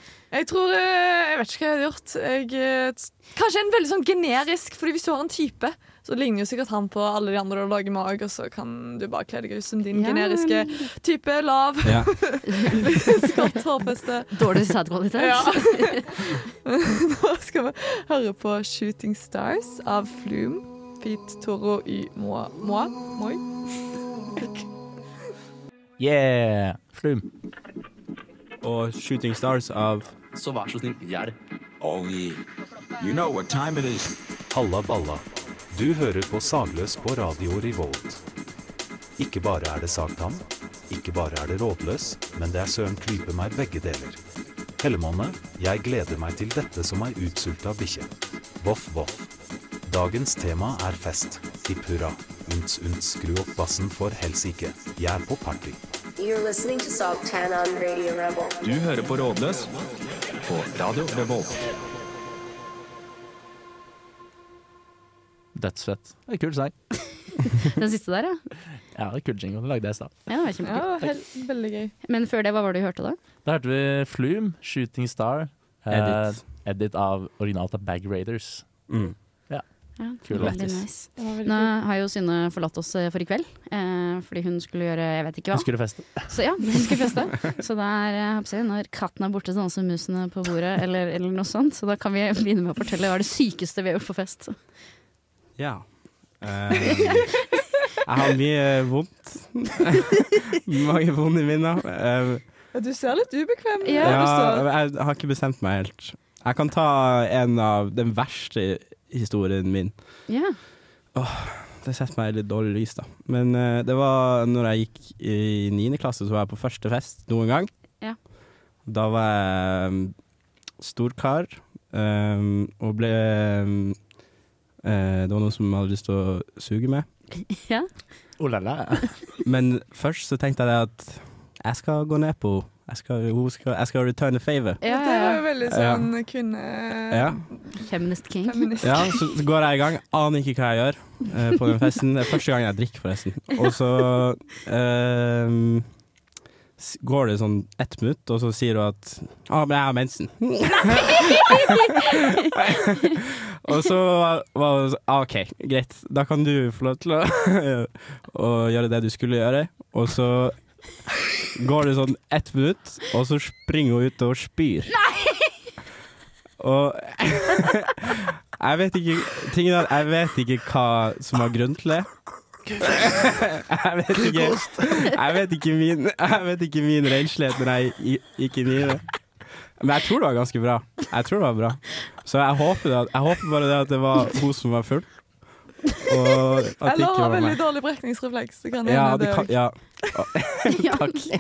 E: Jeg tror eh, Jeg vet ikke hva jeg hadde gjort. Jeg, eh, t- kanskje en veldig sånn generisk, fordi hvis du har en type, så ligner jo sikkert han på alle de andre du lager med òg, og så kan du bare kle deg ut som din
F: Ja.
E: generiske type. Lav.
D: Ja.
E: Skott hårfeste.
F: Dårlig sædkvalitet.
E: Ja. Nå skal vi høre på Shooting Stars av Flume. Pete Toro y Moa. Moa? Moi?
G: Yeah! Flum.
D: Og Shooting Stars av
A: Så vær så snill, hjelp. Oh yeah. You know what time it is.
B: Halla balla. Du hører på Sagløs på Radio Revolt. Ikke bare er det sagtann, ikke bare er det rådløs, men det er søren klype meg begge deler. Hellemåne, jeg gleder meg til dette som ei utsulta bikkje. Voff, voff. Dagens tema er fest. Hipp hurra. Unts, unts, skru opp bassen for helsike. Jeg er på party.
C: You're listening to Saltan on Radio Rebel.
A: Du hører på Rådløs på Radio Revolt.
G: Dødsfett. Det er kul sang.
F: Den siste der, ja.
G: Ja, det er kul jingle. Det lagde jeg i stad.
F: Ja, det var kjempekult.
E: Ja, helt, veldig gøy.
F: Men før det, hva var det du hørte da?
G: Da hørte vi Flume, Shooting Star. eh,
D: Edit.
G: edit av originalt av Bag Raiders.
D: mm.
F: Ja,
G: Kul
F: veldig
G: lættis.
F: nice.
E: Det var veldig
F: Nå
E: kult.
F: har jo Synne forlatt oss eh, for i kveld, eh, fordi hun skulle gjøre jeg vet ikke hva.
G: Hun skulle feste.
F: Så ja, hun skulle feste. Så det er, jeg håper å si, når katten er borte, så danser musene på bordet, eller, eller noe sånt. Så da kan vi begynne med å fortelle hva er det sykeste vi har gjort på fest.
D: Ja. Eh, jeg har mye vondt. Mange vonde minner. Eh,
E: Ja, du ser litt ubekvem ut.
F: Ja.
D: ja, jeg har ikke bestemt meg helt. Jeg kan ta en av den verste historien min.
F: Ja.
D: Det setter meg i litt dårlig lys, da. Men eh, det var når jeg gikk i niende klasse, så var jeg på første fest noen gang.
F: Ja.
D: Da var jeg um, storkar um, og ble um, eh, Det var noen som hadde lyst til å suge med.
F: Ja.
G: Oh la la.
D: Men først så tenkte jeg at jeg skal gå ned på jeg skal, hun skal, jeg skal return a favor.
F: Ja,
E: Det var jo
F: ja.
E: veldig sånn kvinne...
D: Ja.
F: Feminist king.
E: Feminist.
D: Ja, så går jeg i gang. Aner ikke hva jeg gjør eh, på den festen. Det er første gang jeg drikker, forresten. Og så eh, s- går det sånn ett minutt, og så sier hun at ah, men jeg har mensen. Og så var det sånn, ah, OK, greit. Da kan du få lov til å, å gjøre det du skulle gjøre. Og så går det sånn ett minutt, og så springer hun ut og spyr. Og jeg vet ikke tingen er, jeg vet ikke hva som var grunnen til det. Jeg vet ikke Jeg vet ikke min Jeg vet ikke min renslighet når jeg gi- gikk inn i det. Men jeg tror det var ganske bra. Jeg tror det var bra. Så jeg håper, det, at- jeg håper bare det at det var hun som var full. Og at det
E: Eller
D: ikke
E: har
D: var
E: veldig
D: meg.
E: dårlig brekningsrefleks. Det kan
D: Ja,
E: hende
D: det
E: det
D: kan,
E: også.
D: ja.
F: Ja.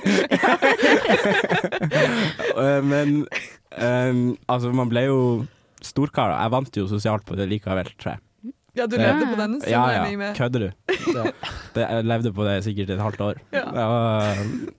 D: Eh, Men um, altså, man ble jo storkar. da. Jeg vant jo sosialt på det likevel, tror jeg.
E: Ja, du levde på den, så
D: Ja,
E: regner
D: ja.
E: jeg med.
D: Kødder du? Det, jeg levde på det sikkert et halvt år.
E: Ja.
D: Det var,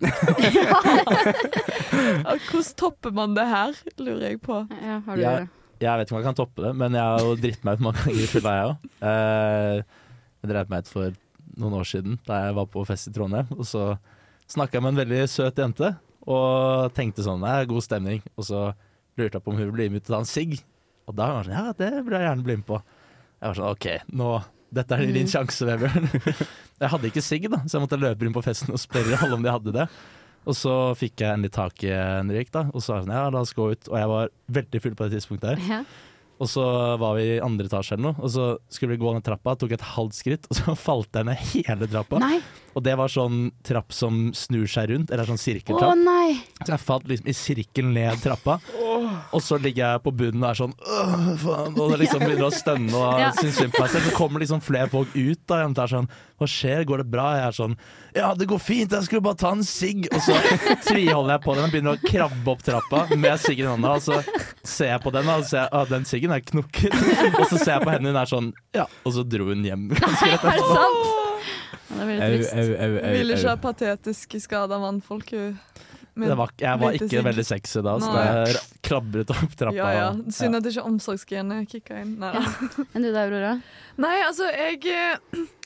E: Ja, Hvordan topper man det her, lurer jeg på.
F: Ja, har du
G: Ja.
F: det?
G: Jeg vet ikke om jeg kan toppe det, men jeg har jo dritt meg ut mange ganger i fylla, jeg òg. Jeg dreit meg ut for noen år siden da jeg var på fest i Trondheim. Og så snakka jeg med en veldig søt jente og tenkte sånn, det er god stemning. Og så lurte jeg på om hun ville bli med ut og ta en sigg. Og da var hun sånn, ja, det vil jeg gjerne bli med på. Jeg var sånn, OK, nå, dette er din sjanse, Vebjørn. Jeg hadde ikke sigg, da, så jeg måtte løpe inn på festen og spørre alle om de hadde det. Og så fikk jeg endelig tak i en røyk, da, og så var jeg sånn, ja, la oss gå ut. Og jeg var veldig full på det tidspunktet her.
F: Ja.
G: Og så var vi i andre etasje eller noe, og så skulle vi gå ned trappa, tok et halvt skritt, og så falt jeg ned hele trappa.
F: Nei.
G: Og det var sånn trapp som snur seg rundt, eller sånn
F: Å
G: sirkeltrapp.
F: nei.
G: Så jeg falt liksom i sirkel ned trappa, og så ligger jeg på bunnen og er sånn åh, faen, og det liksom begynner å stønne og
F: Ja.
G: synes synd på meg selv. Så kommer liksom flere folk ut da, og er sånn, hva skjer, går det bra? Jeg er sånn, ja, det går fint, jeg skulle bare ta en sigg. Og så tviholder jeg på den og begynner å krabbe opp trappa med siggen i hånda, og så ser jeg på den, og så ser jeg, ah, den siggen er knukket. Og så ser jeg på henne, hun er sånn, ja, og så dro hun hjem. Ganske rett
F: Er det
G: etterpå.
F: sant? Ja, det er veldig
D: au,
F: trist.
D: au, au, au,
E: Vil ikke
D: au.
E: ha patetisk skada mannfolk. hun. Med
G: Det var, jeg var
E: lite
G: ikke
E: sigg.
G: veldig sexy da, så
E: Nei.
G: jeg klabret opp trappa.
E: Ja, ja.
G: og-
E: Synd at ikke omsorgsgenet kicka inn. Nei, da.
F: Enn du da, Aurora?
E: Nei, altså, jeg eh,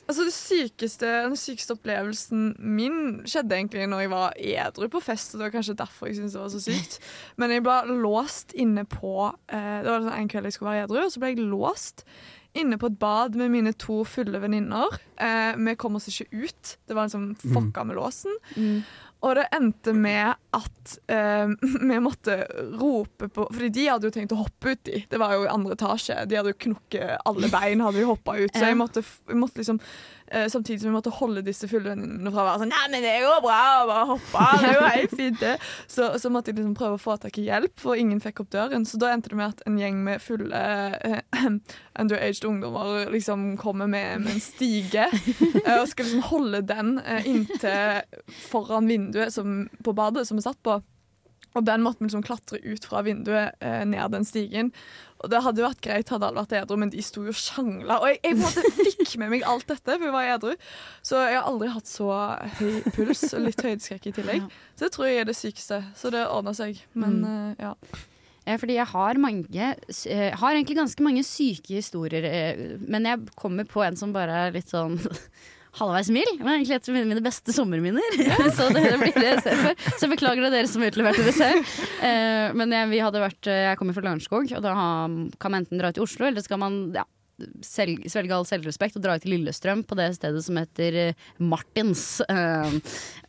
E: Altså det sykeste, Den sykeste opplevelsen min skjedde egentlig når jeg var edru på fest. Og det var kanskje derfor jeg syntes det var så sykt. Men jeg ble låst inne på eh, Det var sånn en kveld jeg skulle være edru, og så ble jeg låst inne på et bad med mine to fulle venninner. Eh, vi kom oss ikke ut. Det var liksom fucka med låsen.
F: Mm.
E: Og det endte med at eh, vi måtte rope på Fordi de hadde jo tenkt å hoppe uti. Det var jo i andre etasje. De hadde jo knukket alle bein, hadde jo hoppa ut. Så jeg måtte, jeg måtte liksom eh, samtidig som vi måtte holde disse fullvennene fra å være sånn Nei, men det går bra å bare hoppe. Det er jo helt fint, det. Så, så måtte jeg liksom prøve å få tak i hjelp, for ingen fikk opp døren. Så da endte det med at en gjeng med fulle eh, underaged ungdommer liksom kommer med, med en stige eh, og skal liksom holde den eh, inntil foran vinduet som, på badet som vi satt på. Og den måtte vi liksom klatre ut fra vinduet eh, ned den stigen. Og det hadde jo vært greit hadde alle vært edru, men de sto jo og sjangla. Og jeg, jeg på en måte fikk med meg alt dette, for jeg var edru. Så jeg har aldri hatt så høy puls og litt høydeskrekk i tillegg. Så det tror jeg er det sykeste. Så det ordner seg. Men
F: Mm.
E: eh, ja.
F: Fordi jeg har mange Jeg har egentlig ganske mange syke historier, eh, men jeg kommer på en som bare er litt sånn halvveis mild. Men egentlig et av mine, mine beste sommerminner. Så det, det blir det jeg ser for. Så jeg beklager det dere som utleverte det selv. Eh, men jeg, vi hadde vært, jeg kommer fra Lørenskog, og da kan man enten dra til Oslo, eller skal man ja, selv, svelge all selvrespekt og dra ut til Lillestrøm på det stedet som heter Martins. Eh,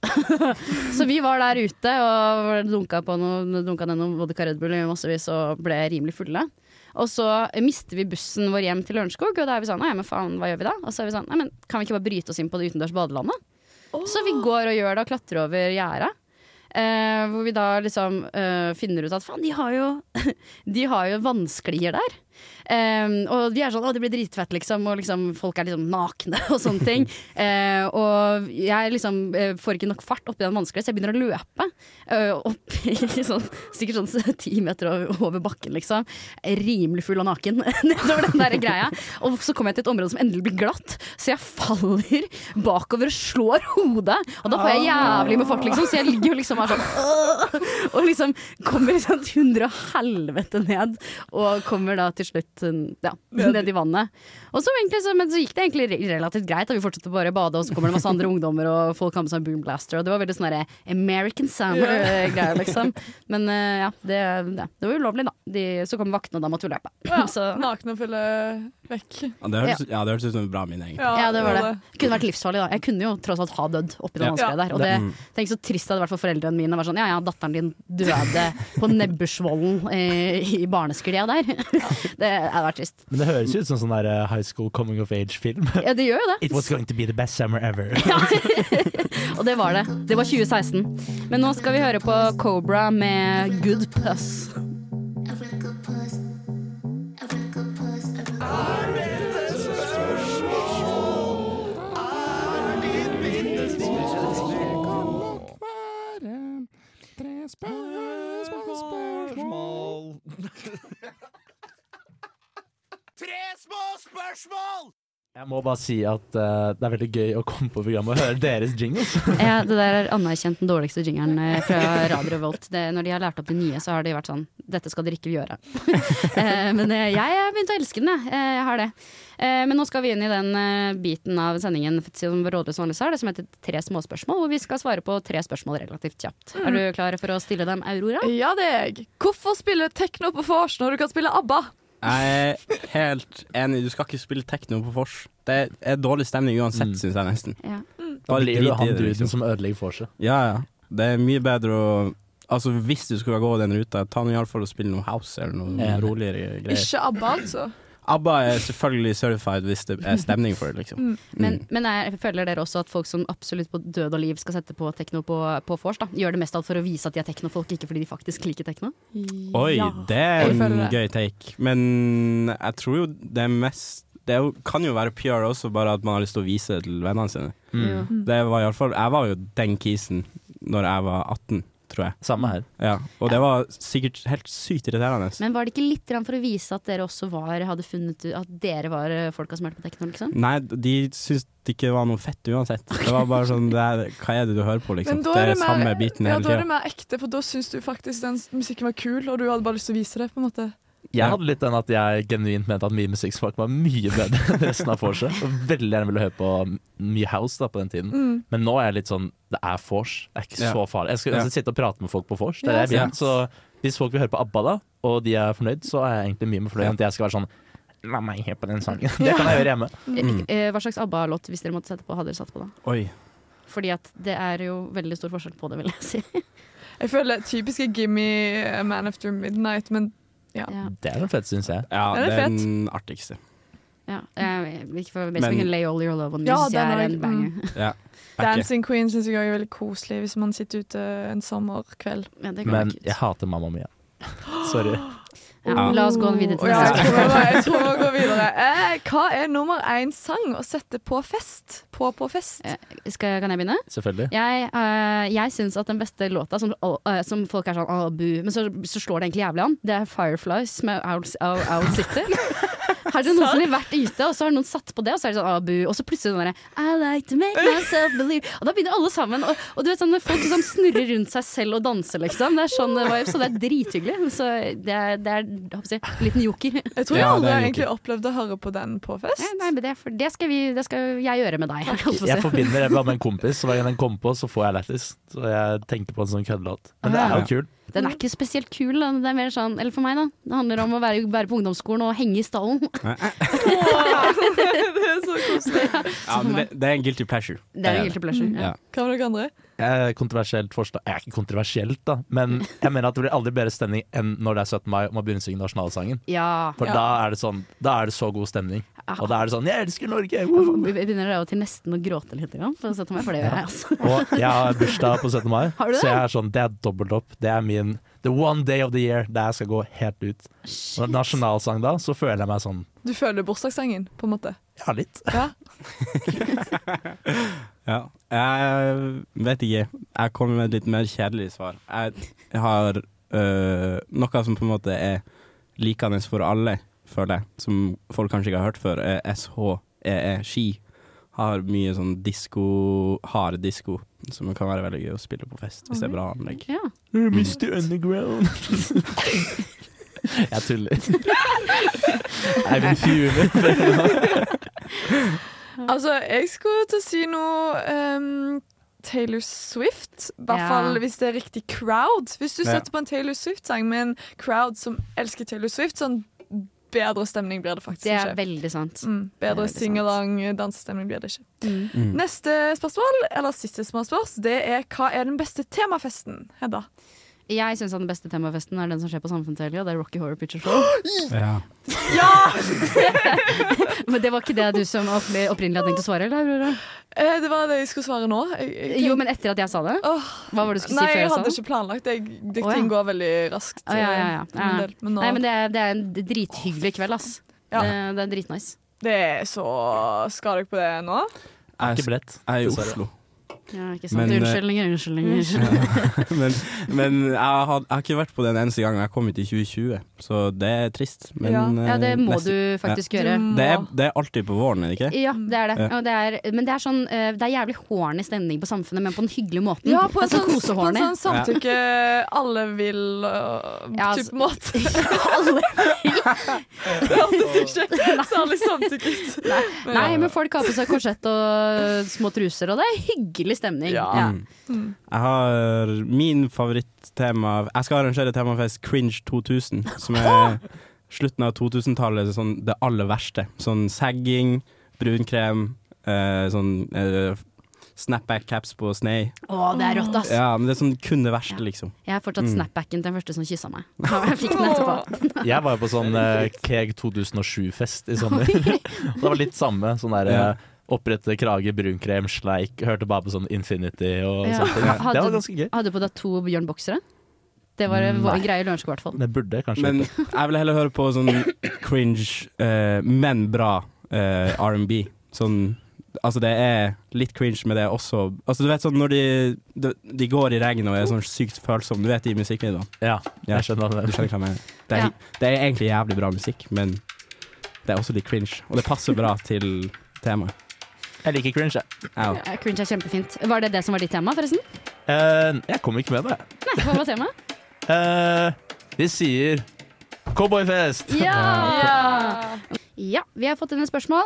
F: så vi var der ute og dunka, på noe, dunka ned noen vodka Red Bull i massevis og ble rimelig fulle. Og så mister vi bussen vår hjem til Lørenskog, og da er vi sånn, nei, men faen, hva gjør vi da? Og så er vi sånn, nei, men kan vi ikke bare bryte oss inn på det utendørs badelandet? Oh. Så vi går og gjør det og klatrer over gjerdet. Eh, hvor vi da liksom eh, finner ut at faen, de har jo De har jo vannsklier der. Eh, og vi er sånn, å det blir dritfett liksom. Og liksom, folk er liksom nakne og sånne ting. eh, Og jeg liksom eh, får ikke nok fart oppi den vannsklia, så jeg begynner å løpe eh, opp i sånn, sikkert sånn ti meter over, over bakken liksom. Rimelig full og naken nedover den der greia. Og så kommer jeg til et område som endelig blir glatt, så jeg faller bakover og slår hodet. Og da får jeg jævlig med fart liksom, så jeg ligger jo liksom er sånn øh, og liksom kommer liksom til hundre og helvete ned, og kommer da til slutt ja, ned i vannet. Og så, egentlig, så, men så gikk det egentlig relativt greit, og vi fortsatte bare å bade, og så kommer det masse andre ungdommer, og folk har med seg boom blaster, og det var veldig sånn der American Summer-greier liksom. Men uh, ja, det, det, det var ulovlig da. De, så kom vaktene, og da måtte vi løpe.
E: Ja,
F: så.
E: Nakne og fylle vekk.
D: Ja, det hørtes, ja, det hørtes ut som en bra minne, egentlig.
F: Ja, ja, det var det. Det kunne vært livsfarlig da. Jeg kunne jo tross alt ha dødd oppi den
D: Ja.
F: vanskeliga der, og det, tenk så trist det hadde vært for foreldrene mine. Var sånn, ja, ja, datteren din døde på Nebbersvollen eh, i barnesklia der. Det hadde vært trist.
G: Men det høres ut som sånn der uh, high school coming of age-film.
F: Ja, det gjør jo det.
G: It was going to be the best summer ever.
F: Ja. Og det var det. Det var tjue seksten. Men nå skal vi høre på Cobra med Good Puss.
I: Tre små spørsmål!
G: Jeg må bare si at uh, det er veldig gøy å komme på programmet og høre deres jingles.
F: Ja, det der er anerkjent den dårligste jingeren eh, fra Radio Revolt. Det, når de har lært opp de nye, så har de vært sånn, dette skal dere ikke gjøre. eh, men eh, jeg har begynt å elske den, jeg. Eh, jeg har det. Eh, men nå skal vi inn i den eh, biten av sendingen som Rådløs vanligvis har, det som heter Tre småspørsmål, hvor vi skal svare på tre spørsmål relativt kjapt. Mm. Er du klar for å stille dem, Aurora?
E: Ja, det er jeg. Hvorfor spille techno på vors når du kan spille ABBA?
D: Jeg er helt enig, du skal ikke spille techno på vors. Det er dårlig stemning uansett,
G: Mm.
D: synes jeg nesten.
F: Ja.
G: Da blir du
D: drit i
G: han
D: det,
G: duden
D: liksom.
G: som ødelegger vorset.
D: Ja, ja. Det er mye bedre å Altså, hvis du skal gå den ruta, ta nå i alle fall og spille noe house eller noe
G: Enig.
D: roligere greier.
E: Ikke ABBA, altså.
D: ABBA er selvfølgelig certified hvis det er stemning for det, liksom.
E: Mm.
F: Men, men jeg føler dere også at folk som absolutt på død og liv skal sette på tekno på, på vors, da, gjør det mest alt for å vise at de er teknofolk, ikke fordi de faktisk liker tekno?
D: Oi,
E: Ja.
D: det er
E: Jeg
D: en
E: føler det.
D: gøy take. Men jeg tror jo det er mest Det er jo, kan jo være P R også, bare at man har lyst til å vise det til vennene sine.
G: Mm.
D: Det var i alle fall, jeg var jo den kisen når jeg var atten, tror jeg.
G: Samme her.
D: Ja, og det var sikkert helt sykt irriterende.
F: Men var det ikke litt grann for å vise at dere også var, hadde funnet ut at dere var folka som hørte på tekno, liksom?
D: Nei, de syntes det ikke var noe fett uansett. Det var bare sånn, det er, hva er det du hører på, liksom?
E: Men da
D: Det
E: er
D: er
E: det mer-
D: samme biten
E: Ja,
D: hele
E: da er det
D: tiden.
E: mer ekte, for da syns du faktisk den musikken var kul, og du hadde bare lyst til å vise det, på en måte.
G: Jeg hadde litt den at jeg genuint mente at min musikksmak var mye bedre enn resten av vorset. Og veldig gjerne ville høre på mye house da på den tiden.
E: Mm.
G: Men nå er jeg litt sånn, det er vors. Det er ikke
D: Ja.
G: så farlig. Jeg skal, jeg skal sitte og prate med folk på vors. Det er
E: Ja,
G: det jeg vil.
E: sant.
G: Så hvis folk vil høre på ABBA da, og de er fornøyd, så er jeg egentlig mye mer fornøyd enn at jeg skal være sånn, la meg høre på den sangen. Det kan jeg gjøre hjemme.
F: Eh, eh, Hva slags ABBA-låt, hvis dere måtte sette på, hadde dere satt på da?
D: Oi.
F: Fordi at det er jo veldig stor forskjell på det, vil jeg si.
E: Jeg føler typiske Gimme A Man After Midnight, men ja.
F: Ja.
G: Det er den fete, synes jeg.
D: Ja,
E: Er det
D: det er
E: fett?
D: den artigste.
F: Ja, jeg, ikke for
D: Men-
F: Basically can lay all your love on me,
E: Ja,
F: synes jeg
E: den
F: er
E: er-
F: en banger.
D: Ja. Backer.
E: Dancing Queen synes jeg også er veldig koselig hvis man sitter ute en sommerkveld.
F: Ja, det kan
G: Men
F: være kult.
G: jeg hater Mamma Mia. Sorry.
F: Ja, la oss gå videre til
E: Å ja,
F: neste
E: jeg
F: spørsmål.
E: tror jeg tror vi går videre. Eh, hva er nummer én sang å sette på fest? På på fest?
F: Eh, Skal, kan jeg begynne?
G: Selvfølgelig.
F: Jeg, uh, jeg syns at den beste låta som, uh, som folk er sånn Åh, bu, men så, så slår det egentlig jævlig an, det er Fireflies med Owl, Owl, Owl City. Har dere noensinne vært ute, og så har noen satt på det, og så er det sånn Åh, bu, og så plutselig sånn der I like to make myself believe. Og da begynner alle sammen. Og, og du vet sånn folk som snurrer rundt seg selv og danser, liksom. Det er sånn vibe, så det er drithyggelig. Så det er, det er jeg håper å si, en liten joker.
E: Jeg tror jeg
D: Ja, det
E: aldri
D: er
E: har
D: jo
E: egentlig
D: ikke-
E: opplevd å høre på den på fest.
F: Ja, nei, men det, for det, skal vi, det skal jeg gjøre med deg. Jeg, holdt på å
G: Jeg
F: si.
G: forbinder det med en kompis, så hver gang den kommer på, så får jeg lættis. Så jeg tenker på en sånn køddelåt. Men det er jo kult.
F: Den er ikke spesielt kul. Da. Det er mer sånn, eller for meg, da. Det handler om å være, være på ungdomsskolen og henge i stallen.
E: Det er så koselig.
D: Ja, men det, det er en guilty pleasure.
F: Det er en guilty pleasure. Ja.
D: Ja.
E: Hva med dere andre?
G: Jeg er kontroversielt forstå- Jeg er ikke kontroversielt, da, men jeg mener at det blir aldri bedre stemning enn når det er syttende mai og man begynner å synge nasjonalsangen.
F: Ja.
G: For
E: Ja.
G: da er det sånn Da er det så god stemning. Og da er det sånn Jeg elsker Norge!
F: Jeg
G: Woo!
F: begynner av og til nesten å gråte litt, grann, for å sette meg, for det gjør jeg altså.
G: Og jeg har bursdag på syttende mai,
F: Har du det?
G: så jeg er sånn Det er dobbelt opp. Det er min The one day of the year der jeg skal gå helt ut. Og nasjonalsang da, så føler jeg meg sånn
E: Du føler bursdagssangen, på en måte?
G: Ja, litt.
E: Ja.
D: Ja. Jeg vet ikke. Jeg kommer med et litt mer kjedelig svar. Jeg, jeg har øh, noe som på en måte er likende for alle, føler jeg, som folk kanskje ikke har hørt før, er S H E E, ski. Har mye sånn disko, hard disko, som kan være veldig gøy å spille på fest, hvis det er bra anlegg.
F: Ja.
G: mister Underground. Jeg tuller. Eivind Fjule.
E: Altså, jeg skulle til å si noe ehm, Taylor Swift. I hvert
F: Ja.
E: fall hvis det er riktig crowd. Hvis du
D: Ja.
E: setter på en Taylor Swift-sang med en crowd som elsker Taylor Swift, sånn bedre stemning blir det faktisk
F: Det er
E: ikke.
F: veldig sant.
E: Mm,
F: Det er
E: bedre
F: veldig sant.
E: singalong dansestemning blir det ikke.
F: Mm.
D: Mm.
E: Neste spørsmål, eller siste spørsmål, det er hva er den beste temafesten, Hedda?
F: Jeg syns den beste temafesten er den som skjer på Samfunnshelga. Det er Rocky Horror Picture Show.
D: Ja.
E: Ja!
F: Men det var ikke det du som oppri- opprinnelig hadde tenkt å svare, eller, Aurora?
E: Eh, det var det jeg skulle svare nå. Jeg, jeg
F: Jo, men etter at jeg sa det?
E: Åh,
F: Hva var det du skulle
E: Nei,
F: si før
E: jeg
F: jeg sa
E: hadde
F: det?
E: ikke planlagt det. Jeg- det.
F: Å, ja.
E: Ting går veldig raskt.
F: Å, ja, ja, ja.
E: eh, for min
F: Ja.
E: del, men nå,
F: Nei, men det er, det er en drithyggelig kveld, ass.
E: Ja.
F: Det, det er dritnice.
E: det er så Skal dere på det nå?
D: Jeg,
G: Ikke billett.
D: jeg er i
G: Dessverre.
D: Oslo.
F: Ja, ikke sant?
D: Men, eh,
F: Unnskyldninger, unnskyldninger.
D: men men jeg, har, jeg har ikke vært på den eneste gangen. Jeg kom hit i tjue tjue, så det er trist. Men,
E: Ja.
F: Ja, det må
D: neste-
F: du faktisk gjøre.
E: Du må-
D: Det er, det er alltid på våren, er det ikke?
F: Ja, det er det.
D: Ja.
F: Og det er, men det er sånn eh, Det er jævlig horny stemning på Samfunnet, men på den hyggelige måten.
E: Ja, på en
F: Det er
E: sånn, på en
F: kosehorny.
E: sånn samtykke alle vil uh,
F: Ja,
E: type
F: altså-
E: måte.
F: Alle-
E: Det hørtes ikke særlig samtykket ut. Men
F: Nei,
E: ja.
F: men folk har på seg korsett og små truser, og det er hyggelig stemning.
E: Ja.
D: Mm. Jeg har min favorittema. Jeg skal arrangere temafest Cringe to tusen, som er slutten av totusentallet, sånn det aller verste. Sånn sagging, brunkrem, eh, sånn eh, snapback-caps på snei.
F: Å, det er rått, ass.
D: Ja, men det er sånn kun det verste, liksom.
F: Jeg har fortsatt
D: Mm.
F: snapbacken til den første som kyssa meg. Ja, jeg fikk den etterpå.
G: Jeg var jo på sånn eh, Keg to tusen og sju-fest i sommer. Det var litt samme. Sånn der
D: Ja.
G: eh, opprette krage, brunkrem, sleik. Hørte bare på sånn Infinity og
F: Ja.
G: sånt.
F: Hadde-
G: Det var ganske gøy.
F: Hadde du på deg to Bjørn Boksere? Det var,
G: Nei.
F: var en greie i Lørenskog, i hvert fall.
G: Det burde jeg kanskje
D: Men
G: gjort.
D: jeg vil heller høre på sånn cringe, eh, men bra eh, R and B. Sånn, altså det er litt cringe, men det er også Altså du vet sånn når de, de, de går i regn og er sånn sykt følsomme, du vet de musikkvideoene.
G: Ja,
D: Ja.
G: jeg skjønner
D: Du
G: det.
D: skjønner hva jeg mener. Det er,
F: Ja.
D: det er egentlig jævlig bra musikk, men det er også litt cringe. Og det passer bra til temaet.
G: Jeg liker cringe, jeg.
D: Ja.
F: Ja, cringe er kjempefint. Var det det som var ditt tema, forresten?
G: Eh, jeg kom ikke med det.
F: Nei, hva var temaet?
G: Eh, vi sier Cowboyfest!
F: Ja! Ja, vi har fått inn et spørsmål.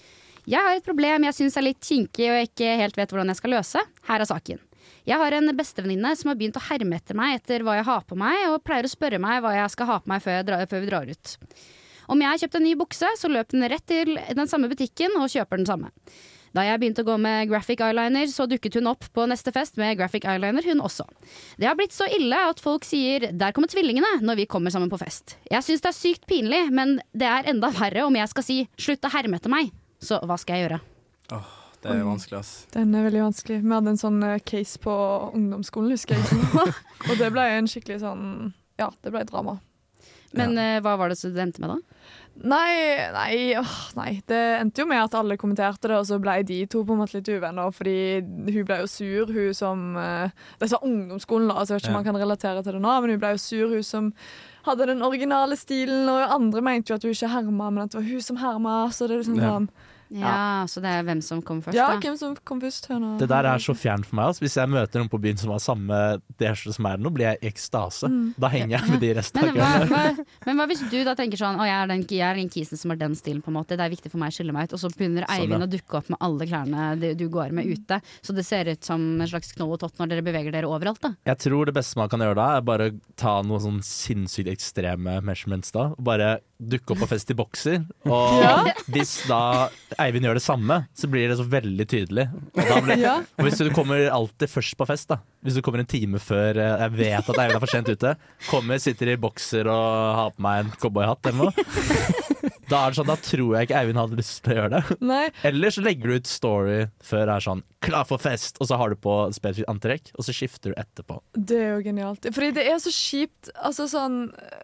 F: Jeg har et problem jeg synes er litt kinkig og jeg ikke helt vet hvordan jeg skal løse. Her er saken. Jeg har en bestevenninne som har begynt å herme etter meg etter hva jeg har på meg, og pleier å spørre meg hva jeg skal ha på meg før, jeg drar, før vi drar ut. Om jeg har kjøpt en ny bukse, så løper den rett til den samme butikken og kjøper den samme. Da jeg begynte å gå med graphic eyeliner, så dukket hun opp på neste fest med graphic eyeliner, hun også. Det har blitt så ille at folk sier «der kommer tvillingene» når vi kommer sammen på fest. Jeg synes det er sykt pinlig, men det er enda verre om jeg skal si «slutt å herme etter meg». Så hva skal jeg gjøre?
D: Åh, det er vanskelig, ass.
E: Den er veldig vanskelig. Vi hadde en sånn case på ungdomsskolen, husker jeg. Og det ble en skikkelig sånn, ja, det ble drama.
F: Men
E: ja.
F: uh, hva var det som det endte med da?
E: Nei, nei, åh, nei, det endte jo med at alle kommenterte det, og så ble de to på en måte litt uvenner, fordi hun ble jo sur, hun som, uh, det var ungdomsskolen da, så jeg vet ikke om ja. man kan relatere til det nå, men hun ble jo sur, hun som hadde den originale stilen, og andre mente jo at hun ikke herma, men at det var hun som herma, så det er liksom
F: ja.
E: sånn.
F: Ja, ja, så det er hvem som kom først
E: ja,
F: da?
E: hvem som kom først. Henne.
G: Det der er så fjernt for meg. Altså. Hvis jeg møter noen på byen som har samme D-skjorte som er nå, blir jeg i ekstase. Mm. Da henger jeg med de resten av
F: kvelden. Men, men hva hvis du da tenker sånn, å jeg er den, jeg er den kisen som har den stilen på en måte, det er viktig for meg å skille meg ut, og så begynner Eivind sånn, ja. å dukke opp med alle klærne du går med ute, så det ser ut som en slags knoll og tott når dere beveger dere overalt da?
G: Jeg tror det beste man kan gjøre da, er bare ta noen sånn sinnssykt ekstreme measurements da, og bare dukke opp på fest i bokser, og ja. hvis da Eivind gjør det samme, så blir det så veldig tydelig. Og, da blir, ja. og hvis du kommer alltid først på fest da, hvis du kommer en time før jeg vet at Eivind er for sent ute, kommer, sitter i bokser og har på meg en cowboyhatt eller noe, da er det sånn, da tror jeg ikke Eivind hadde lyst til å gjøre det.
E: Nei.
G: Eller så legger du ut story før det er sånn, klar for fest, og så har du på spesifikt antrekk, og så skifter du etterpå.
E: Det er jo genialt. Fordi det er så kjipt, altså sånn,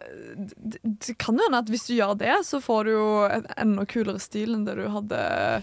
E: det, det kan jo hende at hvis du gjør det, så får du jo en enda kulere stil enn det du hadde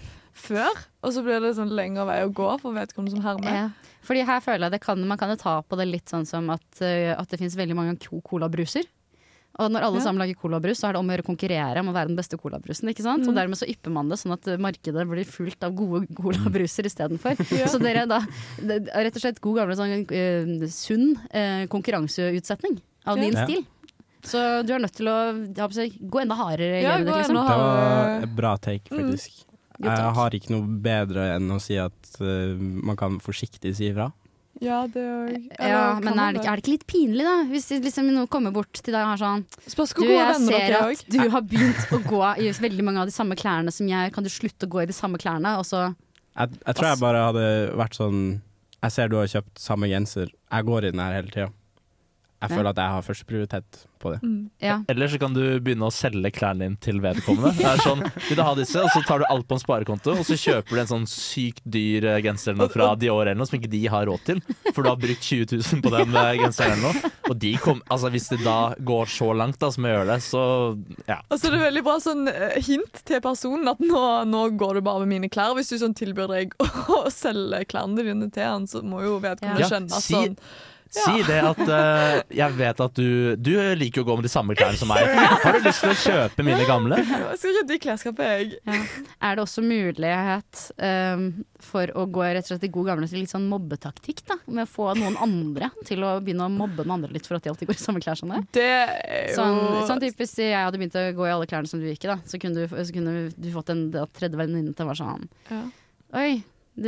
E: før, og så blir det sånn lengre vei å gå for vedkommende som hermer.
F: Ja. Fordi her føler jeg det kan, man kan jo ta på det litt sånn som at, uh, at det finnes veldig mange colabruser. Og når alle ja. sammen lager colabrus, så er det om å gjøre konkurrere om å være den beste colabrusen, ikke sant? Mm. Og dermed så ypper man det sånn at markedet blir fullt av gode colabruser i stedet for. Ja. Så dere da, det er rett og slett god gamle sånn uh, sunn uh, konkurranseutsetning av din ja. stil. Så du er nødt til å ja, gå enda hardere i
E: ja,
F: det, liksom.
D: Det var et bra take, faktisk. Mm. Jeg har ikke noe bedre enn å si at uh, man kan forsiktig si ifra.
E: Ja, det er,
F: ja, men er det, er det ikke litt pinlig da? Hvis liksom, noen kommer bort til deg og har sånn
E: du, jeg ser
F: at du har begynt å gå i veldig mange av de samme klærne som jeg, kan du slutte å gå i de samme klærne? Og så
D: jeg, jeg tror jeg bare hadde vært sånn, jeg ser du har kjøpt samme genser, jeg går i den her hele tiden. Jeg føler at jeg har første prioritet på det.
F: Mm. Ja.
G: Eller så kan du begynne å selge klærne din til vedkommende. Det er sånn, vil du ha disse, og så tar du alt på en sparekonto, og så kjøper du en sånn sykt dyr genser fra Dior eller noe som ikke de har råd til, for du har brukt tjue tusen på den genseren eller noe. Og de kom, altså hvis det da går så langt da, som jeg gjør det, så ja.
E: Og så er det veldig bra sånn hint til personen at nå, nå går du bare med mine klær. Hvis du sånn tilbyr deg å selge klærne dine til han, så må jo vedkommende
G: ja.
E: skjønne at
G: si
E: sånn
G: Si ja. det at uh, jeg vet at du Du liker jo å gå med de samme klærne som meg. Har du lyst til å kjøpe mine gamle?
E: Jeg skal rydde i klesskapet, jeg.
F: Ja. Er det også mulighet um, for å gå rett og slett i god gamle til litt sånn mobbetaktikk, da? Med å få noen andre til å begynne å mobbe den andre litt for at de alltid går i samme klær som deg?
E: Det er jo
F: Sånn, sånn typ hvis jeg hadde begynt å gå i alle klærne som du gikk i, da, så kunne du, så kunne du fått en tredje venninne til å være sånn
E: ja.
F: Oi, du,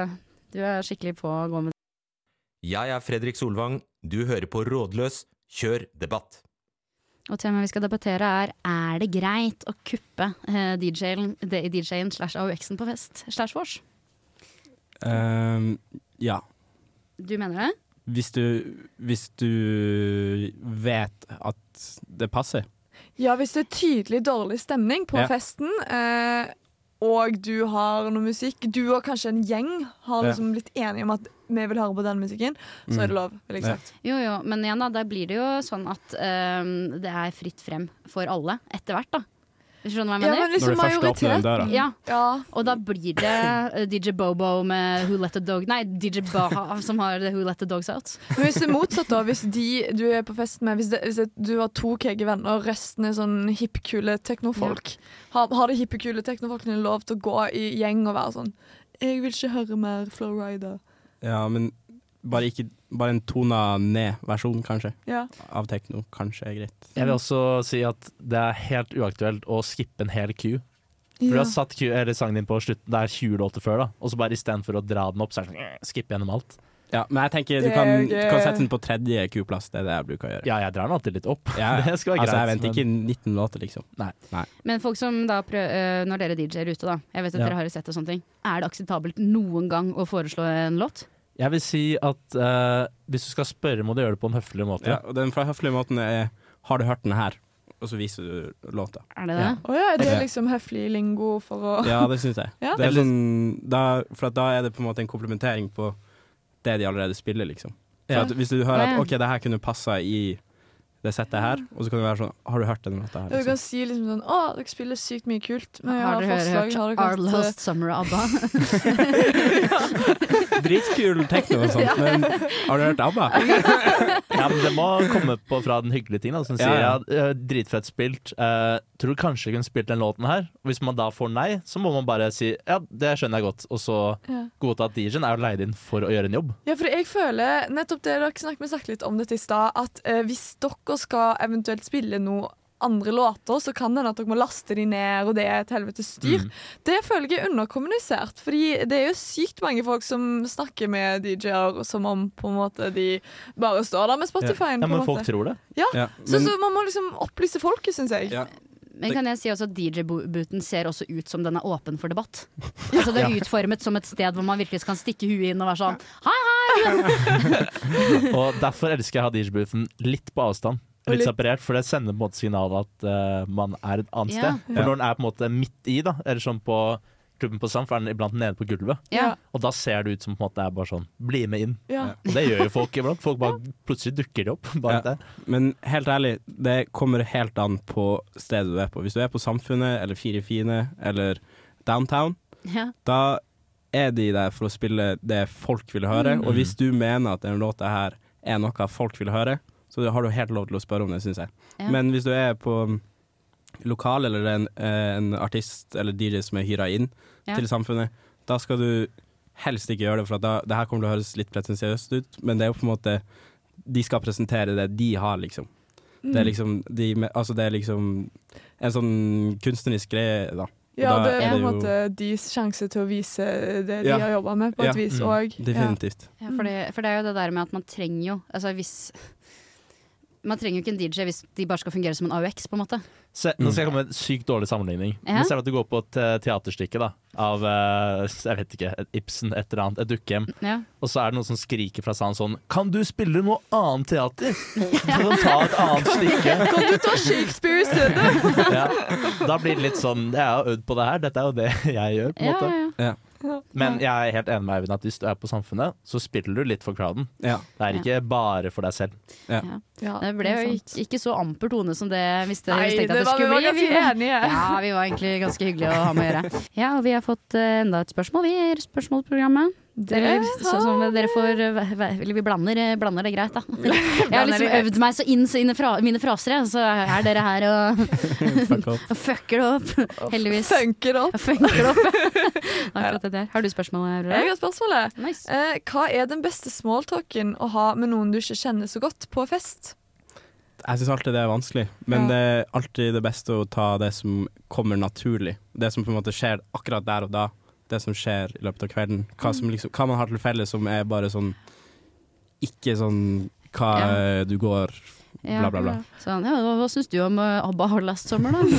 F: du er skikkelig på å gå med.
J: Jeg er Fredrik Solvang, du hører på Rådløs, kjør debatt.
F: Og temaet vi skal debattere er, er det greit å kuppe eh, D J-en D J-en slash A U X-en på fest, slash vors?
D: Um, ja.
F: Du mener det?
D: Hvis du, hvis du vet at det passer.
E: Ja, hvis det er tydelig dårlig stemning på ja. festen, eh, og du har noe musikk, du og kanskje en gjeng har liksom blitt enige om at vi vil høre på den musikken, så er det lov, vil jeg sagt.
F: Jo, jo, men igjen da, der blir det jo sånn at um, det er fritt frem for alle, etter hvert da. Hvis du skjønner hva jeg mener?
E: Ja, men liksom majoritet.
D: Der, da.
F: Ja.
E: ja,
F: og da blir det uh, D J Bobo med Who Let The Dog, nei, D J Baha som har Who Let The Dogs Out.
E: Men hvis det er motsatt da, hvis de du er på fest med, hvis, det, hvis det, du har to kege venner, og resten er sånn hippkule teknofolk, ja. har, har de hippkule teknofolkene lov til å gå i gjeng og være sånn, jeg vil ikke høre mer Flowrider.
D: Ja, men bare, ikke, bare en tona ned-versjon, kanskje,
E: Ja.
D: av tekno. Kanskje er greit.
G: Jeg vil også si at det er helt uaktuelt å skippe en hel Q. For du
E: Ja.
G: har satt Q, eller sangen din på slutten, det er tjue låter før, da. Og så bare istedenfor å dra den opp, så er det sånn, eh, skippe gjennom alt.
D: Ja, men jeg tenker du
E: Det
D: kan,
E: er
D: du
E: gøy.
D: kan sette den på tredje Q-plass, det er det jeg bruker å gjøre.
G: Ja, jeg drar den alltid litt opp.
D: Ja,
G: Det skal være
D: altså, jeg
G: greit,
D: venter ikke nitten låter, liksom.
G: Nei.
D: Nei.
F: Men folk som da prøver, øh, når dere D J-er ute, da, jeg vet at
G: Ja.
F: dere har sett og sånne ting, er det akseptabelt noen gang å foreslå en låt?
G: Jeg vil si at eh, hvis du skal spørre, må du gjøre det på en høflig måte.
D: Ja, og den fra høflige måten er har du hørt den her? Og så viser du låta.
F: Er det det?
E: Å ja, er det
D: Ja.
E: liksom høflig lingo for å
D: Ja, det syns jeg.
E: Ja.
D: Det er sånn, da, for at da er det på en måte en komplementering på det de allerede spiller, liksom. For
G: Ja.
D: at hvis du hører
F: Ja,
D: at
F: ja.
D: OK, det her kunne passa i det settet her, og så kan det være sånn Har du hørt denne låta her?
E: Du
D: Liksom?
E: kan si liksom sånn Å, dere spiller sykt mye kult, men jeg
F: Har
E: har,
F: dere
E: forslag.
F: hørt
E: Har dere
F: Our
E: hørt,
F: Last Summer av ABBA?
D: Dritkul tekno og sånt, men har du hørt ABBA?
G: Ja, men det må komme på fra den hyggelige ting, da, som
D: Ja,
G: sier
D: ja.
G: ja, eh, dritfett spilt. Eh, tror du kanskje jeg kunne spilt den låten her? Og hvis man da får nei, så må man bare si ja, det skjønner jeg godt. Og så
E: Ja.
G: godta at D J-en er jo leid inn for å gjøre en jobb.
E: Ja, for jeg føler nettopp det dere snakket, vi snakket litt om dette i stad, at eh, hvis dere skal eventuelt spille noe andre låter, så kan det hende at dere må laste de ned, og det er et helvetes styr.
G: Mm.
E: Det føler jeg er underkommunisert, fordi det er jo sykt mange folk som snakker med D J-er som om på en måte de bare står der med Spotify-en.
G: Ja,
E: på
G: men
E: en
G: folk
E: måte.
G: tror det.
E: Ja,
D: Ja,
E: så,
D: men,
E: så man må liksom opplyse folket, syns jeg.
D: ja,
F: Men kan jeg si også at D J-booten ser også ut som den er åpen for debatt. Altså Det er utformet som et sted hvor man virkelig kan stikke huet inn og være sånn hei, hei!
G: Og derfor elsker jeg å ha D J-boothen litt på avstand.
E: Og
G: Litt
E: litt-
G: separert, for det sender på en måte signalet at eh, man er et annet
F: Ja.
G: sted. For
D: Ja.
G: når den er på en måte midt i, da, eller sånn på klubben på Samf, er den iblant nede på gulvet.
F: Ja.
G: Og da ser det ut som på en måte det er bare sånn bli med inn.
E: Ja.
G: Og det gjør jo folk iblant. Folk bare plutselig dukker de opp. Bare
D: Ja.
G: der.
D: men helt ærlig, det kommer helt an på stedet du er på. Hvis du er på Samfunnet eller Fire Fine eller Downtown,
F: Ja.
D: da er de der for å spille det folk vil høre.
G: Mm.
D: Og hvis du mener at denne låta her er noe folk vil høre, så har du helt lov til å spørre om det, syns jeg.
F: Ja.
D: Men hvis du er på lokal, eller en, eh, en artist eller D J som er hyra inn
F: Ja.
D: til Samfunnet, da skal du helst ikke gjøre det, for at da, det her kommer til å høres litt pretensiøst ut, men det er jo på en måte de skal presentere det de har, liksom. Det er liksom, de, med- altså det er liksom en sånn kunstnerisk greie, da.
E: Ja,
D: da
E: det er
D: er
E: på en
D: det jo-
E: måte deres sjanse til å vise det de
D: Ja.
E: har jobba med, på
D: Ja.
E: et vis
G: Mm.
E: òg.
D: Definitivt.
F: Ja, for, det, for det er jo det der med at man trenger jo altså hvis Man trenger jo ikke en D J hvis de bare skal fungere som en A U X, på en måte.
G: Se, nå skal jeg komme med en sykt dårlig sammenligning.
F: Ja.
G: Men ser du at du går på et eh, teaterstykke da av eh, jeg vet ikke, et Ibsen, et eller annet, et dukkehjem,
F: Ja.
G: og så er det noen som skriker fra salen sånn Kan du spille noe annet teater? Kan du ta et annet stykke?
E: Kan du ta Shakespeare i stedet?
G: Ja. Da blir det litt sånn Jeg har øvd på det her, dette er jo det jeg gjør. på en
F: Ja,
G: måte
F: ja, ja.
G: Men jeg er helt enig med Eivind at hvis du er på Samfunnet, så spiller du litt for crowden.
D: Ja.
G: Det er ikke bare for deg selv.
D: Ja.
E: Ja,
F: Det ble jo
E: sant.
F: ikke, ikke så amper tone som det hvis det,
E: Nei,
F: hvis tenkte
E: det
F: at det
E: var, vi
F: skulle
E: var
F: bli.
E: ganske enige.
F: Ja, vi var egentlig ganske hyggelige å ha med å gjøre. Ja, og vi har fått uh, enda et spørsmål, vi er spørsmålsprogrammet. Eller, så, som dere får uh, Eller vi blander, uh, blander det greit, da. Jeg har liksom øvd meg så inn så inn i fra, mine fraser, jeg, så er dere her og,
D: Fuck off.
F: og fucker det opp. Heldigvis.
E: Funker det opp.
F: Funker det opp. Akkurat det der. Har du spørsmål,
E: Jeg
F: Aurora?
E: har spørsmålet.
F: Nice.
E: Eh, hva er den beste smalltalken å ha med noen du ikke kjenner så godt på fest?
D: Jeg syns alltid det er vanskelig, men
E: Ja.
D: det er alltid det beste å ta det som kommer naturlig. Det som på en måte skjer akkurat der og da. Det som skjer i løpet av kvelden. Hva, som liksom, hva man har til felles som er bare sånn ikke sånn hva
F: Ja.
D: du går bla, bla, bla.
F: Sånn, ja, hva, hva syns du om uh, ABBA Har Last Summer, da?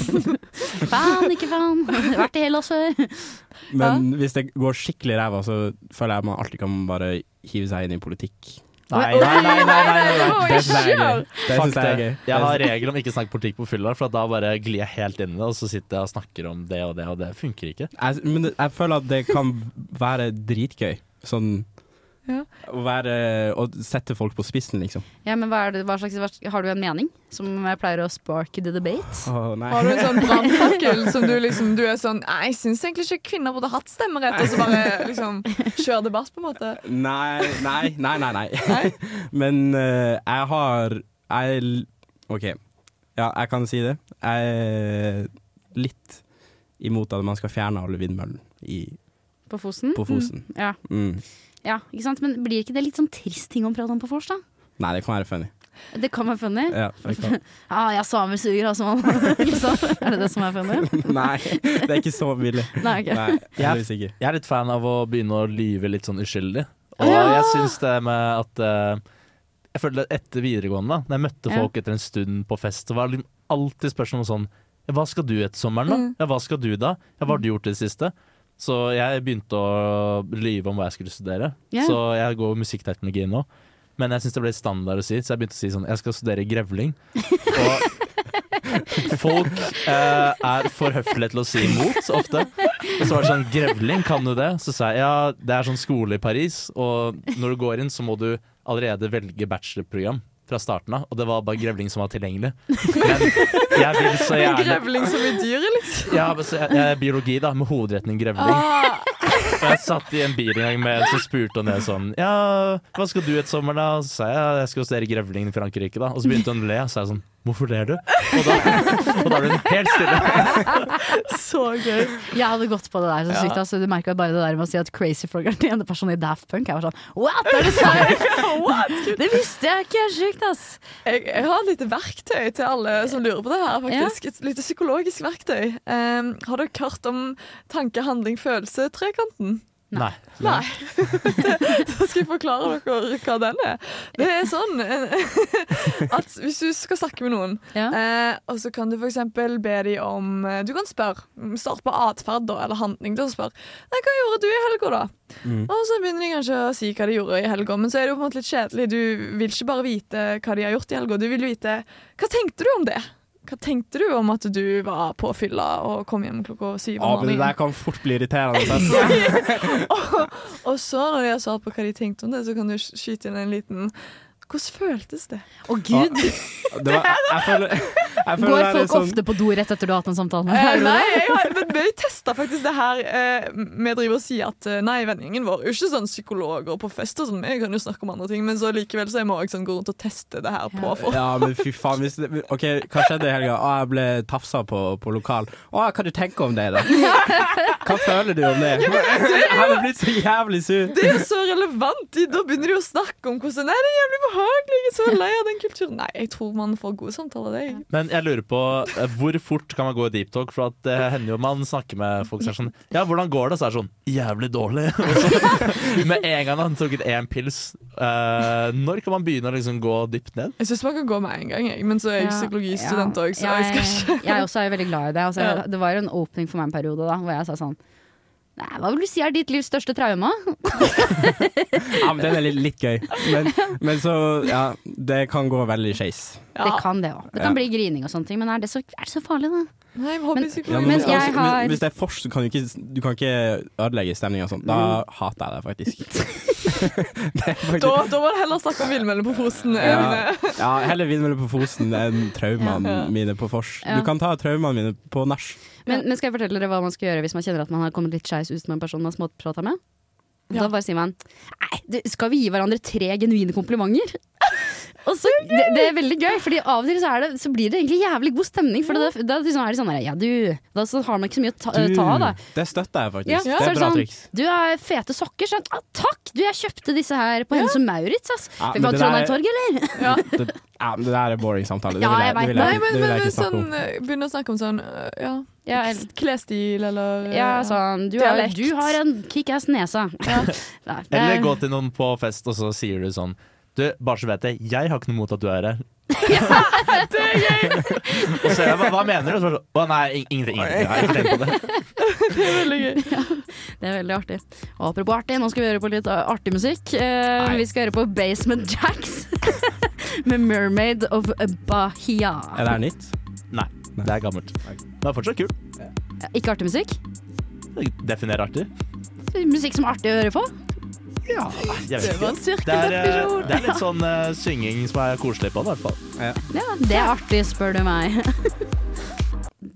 F: Fan, ikke fan. Vært i Hellas før.
D: Men hvis det går skikkelig ræva, så føler jeg man alltid kan bare hive seg inn i politikk.
G: Nei, nei, nei, nei, nei, nei, nei.
D: Det syns jeg er gøy. Det
G: Fuck
D: synes jeg er
G: det.
D: gøy.
G: Jeg har regel om ikke snakke politikk på fylla, for da bare glir jeg helt inn i det, og så sitter jeg og snakker om det og det, og det funker ikke.
D: Jeg, men det, jeg føler at det kan være dritgøy. Sånn
E: Ja.
D: å være Å sette folk på spissen, liksom.
F: Ja, men hva er det, hva slags, hva, Har du en mening som jeg pleier å spark the debate?
D: Å, nei.
E: Har du en sånn brannfakkel som du liksom Du er sånn Nei, jeg syns egentlig ikke kvinner burde hatt stemmerett, og så bare liksom kjør debatt, på en måte.
D: Nei, nei, nei, nei, nei. Men eh, jeg har Jeg er l- OK. Ja, jeg kan si det. Jeg er litt imot at man skal fjerne alle vindmøllene i,
F: På Fosen?
D: på Fosen.
F: Ja.
D: Mm.
F: Ja, ikke sant? Men blir ikke det litt sånn trist ting å prate om på vors, da?
D: Nei, det kan være funny.
F: Det kan være funny.
D: Ja, det kan.
F: ah, jeg samesuger, altså. liksom. Er det det som er funny?
D: Nei, det er ikke så billig.
F: Nei, okay.
D: Nei, jeg,
G: jeg, jeg er litt fan av å begynne å lyve litt sånn uskyldig. Og
F: ja.
G: jeg synes det med at uh, jeg følte etter videregående, da når jeg møtte folk ja. etter en stund på fest, så var det alltid spørsmål sånn ja, hva skal du etter sommeren da? Mm. Ja, hva skal du da? Ja, hva har du gjort i det siste? Så jeg begynte å lyve om hva jeg skulle studere. Yeah. Så jeg går musikkteknologi nå. Men jeg synes det ble standard å si, så jeg begynte å si sånn jeg skal studere grevling. Og folk eh, er for høflige til å si imot ofte. Og så var det sånn, grevling, kan du det? Så sa jeg, ja, det er sånn skole i Paris, og når du går inn så må du allerede velge bachelorprogram fra starten av, og det var bare grevling som var tilgjengelig. Men jeg vil så gjerne...
E: Grevling som i dyret, liksom?
G: Ja, men så jeg, jeg er biologi da, med hovedretning grevling. Ah. Og jeg satt i en bil en gang med en som spurte om det sånn, ja, hva skal du et sommer da? Så sa jeg, jeg skal studere grevling i Frankrike da. Og så begynte hun å le, og så sa jeg sånn, hvorfor ler du? Og da, og da ble hun helt stille.
E: Så gøy.
F: Jeg hadde gått på det der så sykt. Ja. Altså, du merket bare det der med å si at Crazy Frog er den ene personen i Daft Punk. Jeg var sånn, what er det sant? What? Det visste jeg ikke, sykt ass.
E: Jeg, jeg har et lite verktøy til alle som lurer på det her, faktisk. Ja. Et lite psykologisk verktøy. Um, har dere hørt om tanke, handling, følelse, trekanten?
G: Nei.
E: Nei. Da skal jeg forklare dere hva den er. Det er sånn at hvis du skal snakke med noen, ja. eh, og så kan du for eksempel be dem om du kan spørre, start på atferd da, eller handling. Da spør nei, hva gjorde du i helga da? Mm. Og så begynner de kanskje å si hva de gjorde i helga, men så er det jo på en måte litt kjedelig. Du vil ikke bare vite hva de har gjort i helga, du vil vite hva tenkte du om det? Hva tenkte du om at du var på fylla og kom hjem klokka syv om morgenen?
D: Ja, men det der kan fort bli irriterende.
E: og, og så når de har svart på hva de tenkte om det, så kan du skyte inn en liten hvordan føltes det?
F: Å Gud!
D: Det var, jeg føler, jeg føler
F: Går folk
D: sånn...
F: ofte på do rett etter du har hatt en samtale?
E: Eh, nei, jeg har, men vi testet faktisk det her. Eh, vi driver og sier at nei, vennegjengen vår er ikke sånn psykologer på fest og sånn. Vi kan jo snakke om andre ting, men så likevel så jeg må jeg sånn gå rundt og teste det her på folk.
D: Ja, men fy faen. Hvis det, ok, hva skjedde i helga? Å, jeg ble tafsa på, på lokal. Å, hva du tenker om det da? Hva føler du om det?
E: Ja, det
D: jeg hadde blitt så jævlig sur.
E: Det er så relevant. Da begynner de å snakke om hvordan nei, det er jævlig behagelig. Jeg er så lei av den kulturen. Nei, jeg tror man får gode samtaler det.
G: Men jeg lurer på, hvor fort kan man gå i deep talk? For at det hender jo man snakker med folk som er sånn, ja, hvordan går det? Så er det sånn, jævlig dårlig. Og så, med en gang han tok en pils. Uh, når kan man begynne å liksom gå dypt ned?
E: Jeg synes man kan gå med en gang, jeg. Men så er jeg psykologistudent også, så jeg skal ikke.
F: Jeg også er veldig glad i det. Altså, ja. Det var jo en åpning for meg en periode da, hvor jeg sa sånn, nei, hva vil du si er ditt livs største trauma?
D: Ja, men den er litt, litt gøy. Men, men så, ja, det kan gå veldig skeis.
F: Ja. Det kan det også. Det kan ja. bli grining og sånne ting, men er det så, er det så farlig da?
E: Nei, hobbypsykolog.
D: Ja, men, men, altså, har... men hvis det er fors, så kan du ikke, du kan ikke ødelegge stemningen og sånt. Da mm. hater jeg det faktisk. det faktisk...
E: Da, da må du heller snakke om vindmøller på Fosen.
D: Ja, ja, heller vindmøller på Fosen enn traumene ja. mine på fors. Ja. Du kan ta traumene mine på nach.
F: Men, men skal jeg fortelle dere hva man skal gjøre hvis man kjenner at man har kommet litt skeis ut med en person man har småpratet med? Ja. Da bare sier man, nei, skal vi gi hverandre tre genuine komplimenter? Og så, det, det er veldig gøy, fordi av og til så, er det, så blir det egentlig jævlig god stemning. For da, da liksom er det sånn her, ja du, da så har man ikke så mye å ta,
D: du,
F: ta av da.
D: Det støtter jeg faktisk,
F: ja.
D: det er, er bra
F: sånn,
D: triks.
F: Du har fete sokker, sånn, ah, takk, du jeg kjøpte disse her på ja. Hennes og Maurits, ass.
D: Ja,
F: vi var Trondheim Torg, eller?
E: Ja.
D: det, ja, men det der er boring samtale, det
F: ja,
D: vil jeg,
F: jeg,
D: det vil jeg,
E: Nei, men,
D: det vil jeg
E: men,
D: ikke snakke
E: sånn,
D: om.
E: Begynner å snakke om sånn, ja,
F: ja
E: klesstil, eller
F: ja, sånn, du har, du har en kick-ass nesa. Ja.
G: Nei, eller gå til noen på fest, og så sier du sånn, du, bare så vet jeg, jeg har ikke noe mot at du er her.
E: Ja, det er gøy!
G: Og så hva, hva mener du? Å nei, ingenting, ingenting. Jeg har ikke tenkt på det.
E: Det er veldig gøy.
F: Ja, det er veldig artig. Og apropos artig, nå skal vi høre på litt artig musikk. Uh, vi skal høre på Basement Jacks med Mermaid of Bahia.
D: Er det her nytt?
G: Nei, det er gammelt. Det er fortsatt kult.
F: Ja. Ikke artig musikk?
G: Definer artig.
F: Musikk som er artig å høre på?
G: Ja, jeg vet
E: det,
G: ikke. Det er, det er litt sånn uh, synging som er koselig på det, i hvert fall.
F: Ja. Ja, det er artig, spør du meg.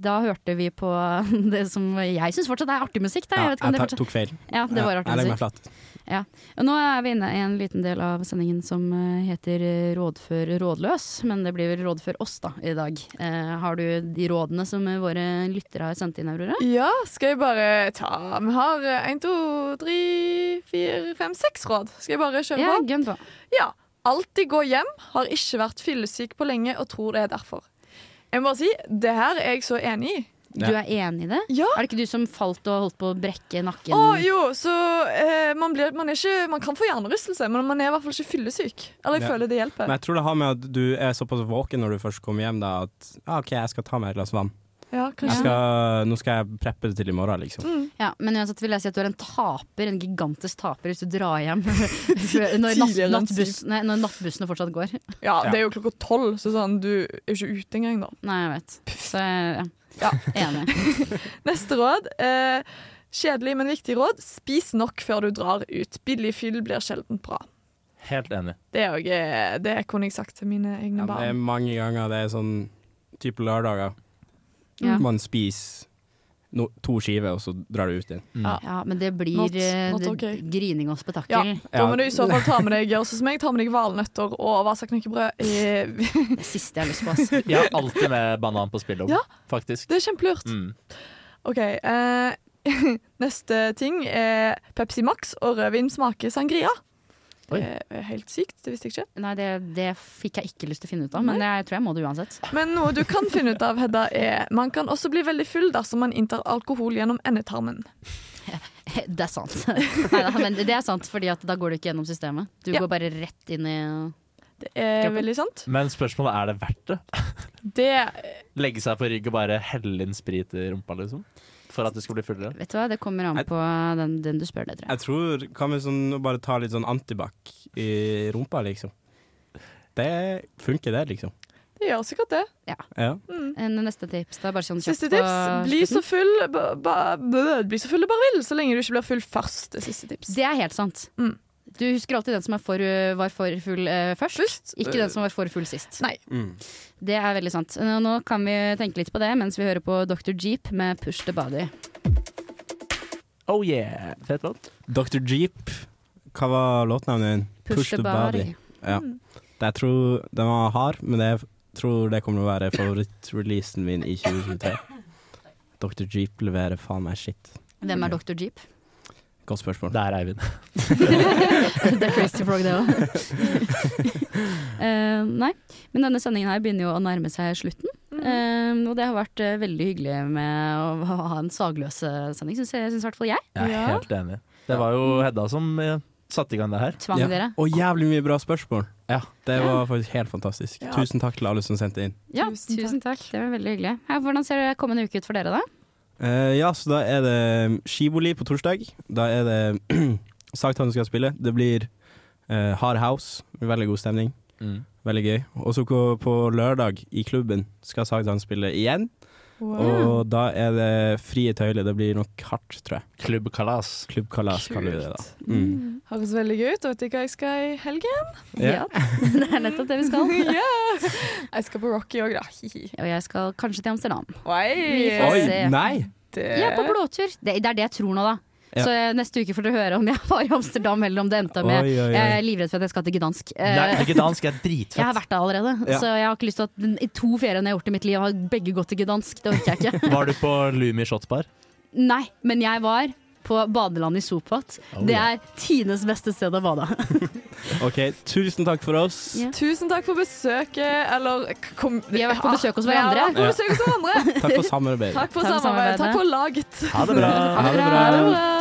F: da hørte vi på det som jeg synes fortsatt er artig musikk. Da.
D: Ja,
F: Jeg vet ikke om
D: jeg
F: det
D: tar-
F: fortsatt-
D: tok feil.
F: Ja, det var
D: Ja,
F: artig
D: jeg legger meg
F: musikk.
D: flat.
F: Ja. Og nå er vi inne i en liten del av sendingen som eh, heter eh, Rådfør rådløs, men det blir vel Rådfør oss da i dag. Eh, har du de rådene som eh, våre lyttere har sendt inn, Aurora?
E: Ja, skal jeg bare ta Vi har én, to, tre, fire, fem, seks råd. Skal jeg bare kjøre
F: Ja,
E: på?
F: gønn på.
E: Ja. Alltid gå hjem. Har ikke vært fyllesyk på lenge og tror det er derfor. Jeg må bare si, det her er jeg så enig i.
F: Du er enig i det?
E: Ja.
F: Er det ikke du som falt og holdt på å brekke nakken?
E: Å jo, så eh, man, blir, man, er ikke, man kan få hjernerystelse, men man er i hvert fall ikke fyllesyk. Eller jeg
D: Ja.
E: føler det hjelper.
D: Men jeg tror det har med at du er såpass våken når du først kommer hjem, da, at ah, OK, jeg skal ta meg et glass vann.
E: Ja,
D: Jeg
E: kanskje.
D: skal, nå skal jeg preppe det til i morgen, liksom.
E: Mm.
F: Ja, men uansett vil jeg si at du er en taper, en gigantisk taper hvis du drar hjem før- når, natt,
E: Tidligere enn
F: nattbuss, nei, når nattbussene fortsatt går.
E: Ja, det er jo klokka tolv, så sånn, du er jo ikke ute engang da.
F: Nei, jeg vet. Så ja,
E: Ja.
F: enig.
E: Neste råd. Eh, kjedelig, men viktig råd. Spis nok før du drar ut. Billig fyll blir sjelden bra.
G: Helt enig.
E: Det, er jo, eh, det kunne jeg sagt til mine egne
D: Ja, det er
E: barn.
D: mange ganger det er sånn type lørdager.
F: Ja.
D: Man spiser no, to skiver, og så drar du ut igjen.
E: Ja.
F: Ja, men det blir
E: Not-
F: eh,
E: not
F: det-
E: okay.
F: grining og
E: Ja,
F: spetakkel.
E: da må du i så fall ta med deg gjør sånn som meg, ta med deg valnøtter og vasaknekkebrød. Eh,
F: Det siste jeg har lyst på. Ass.
G: Jeg har alltid med banan på spillet,
E: Ja.
G: faktisk.
E: det er kjempelurt.
G: Mm.
E: OK. Eh, neste ting er Pepsi Max og rødvin smaker sangria.
G: Oi.
E: Det er helt sykt, det visste jeg ikke.
F: Nei, det, det fikk jeg ikke lyst til å finne ut av, men jeg tror jeg må det uansett.
E: Men noe du kan finne ut av, Hedda, er man kan også bli veldig full dersom man inntar alkohol gjennom endetarmen.
F: Det er sant. Neida, men det er sant, fordi at da går du ikke gjennom systemet. Du
E: Ja.
F: går bare rett inn i
E: Det er
F: Kroppen.
E: veldig sant.
G: Men spørsmålet er det verdt det?
E: Det
G: Legge seg på rygg og bare helle inn sprit i rumpa, liksom? For at du skal bli fullere?
F: Vet du hva, det kommer an
D: Jeg-
F: på den, den du spør det, tror jeg.
D: Jeg tror Kan vi sånn, bare ta litt sånn antibac i rumpa, liksom? Det funker, det, liksom.
E: Det gjør sikkert det.
F: Ja.
D: Ja.
F: En neste tips, da, bare sånn kjapt
E: Siste
F: på
E: tips. Bli så
F: slutten.
E: full ba, ba, bø, Bli så full du bare vil, så lenge du ikke blir full først. Det siste tips.
F: Det er helt sant.
E: Mm.
F: Du husker alltid den som er for, uh, var for full uh, først,
E: Først,
F: ikke
E: uh,
F: den som var for full sist.
E: Nei.
D: Mm.
F: Det er veldig sant. Nå, nå kan vi tenke litt på det mens vi hører på doktor Jeep med Push the Body.
G: Oh yeah! Fet låt.
D: doktor Jeep, hva var låtnavnet din?
F: Push, the Body.
D: Ja. Det, jeg tror den var hard, men jeg tror det kommer til å være favorittreleasen min i tjue tjuetre. doktor Jeep leverer faen meg shit.
F: Hvem er doktor Jeep?
D: Godt spørsmål.
G: Det er Eivind.
F: Det er Crazy Frog, det òg. uh, nei, men denne sendingen her begynner jo å nærme seg slutten. Uh, og det har vært uh, veldig hyggelig med å ha en sagløs-sending, syns jeg, synes i hvert fall jeg.
G: Jeg er
E: Ja.
G: helt enig. Det var jo Hedda som eh, satte i gang det her.
F: Tvang
D: Ja.
F: dere.
D: Og jævlig mye bra spørsmål.
G: Ja.
D: Det var faktisk helt fantastisk.
E: Ja.
D: Tusen takk til alle som sendte inn.
F: Ja,
E: Tusen
F: tusen takk. Det var veldig hyggelig. Ja, hvordan ser det kommende uke ut for dere, da?
D: Eh, ja, så da er det skivoli på torsdag. Da er det Sagtann skal spille. Det blir uh, Hard House. Veldig god stemning.
G: Mm.
D: Veldig gøy. Og så på, på lørdag i klubben skal Sagtann spille igjen.
E: Wow.
D: Og da er det frie tøyler. Det blir nok hardt, tror jeg.
G: Klubbkalas.
D: Klubbkalas kaller vi det da.
E: Mm.
D: Mm.
E: Høres veldig gøy ut. Og vet du hva jeg skal i helgen?
D: Ja.
F: Det er nettopp det vi skal.
E: Ja. Jeg skal på Rocky òg, da. Hihi.
F: Og jeg skal kanskje til Amsterdam.
E: Oi.
F: Vi får
D: Oi,
F: se.
D: nei!
E: Det-
F: Jeg er på blåtur. Det, det er det jeg tror nå, da.
D: Ja.
F: Så eh, neste uke får dere høre om jeg var i Amsterdam, eller om det endte med
D: Oi, oi, oi.
F: Jeg er livredd for at jeg skal til Gdansk. Eh,
G: Nei, ikke dansk er dritfett.
F: Jeg har vært der allerede,
D: Ja.
F: så jeg har ikke lyst til at den- i to feriene jeg har gjort i mitt liv, har begge gått til Gdansk. Det orker jeg ikke.
G: Var du på Lumi Shotsbar?
F: Nei, men jeg var på badeland i Sopat.
G: Oh,
F: Det
G: ja.
F: er Tines beste sted å bade.
D: OK, tusen takk for oss.
F: Ja.
E: Tusen takk for besøket. Eller kom,
F: Vi har vært på besøk hos hverandre.
E: Ja, på besøk hos hverandre.
D: Takk for samarbeidet.
E: Takk for
F: Takk for
E: samarbeidet.
F: samarbeidet.
E: Takk for laget.
G: Ha det bra.
D: Ha det bra.
E: Ha det bra.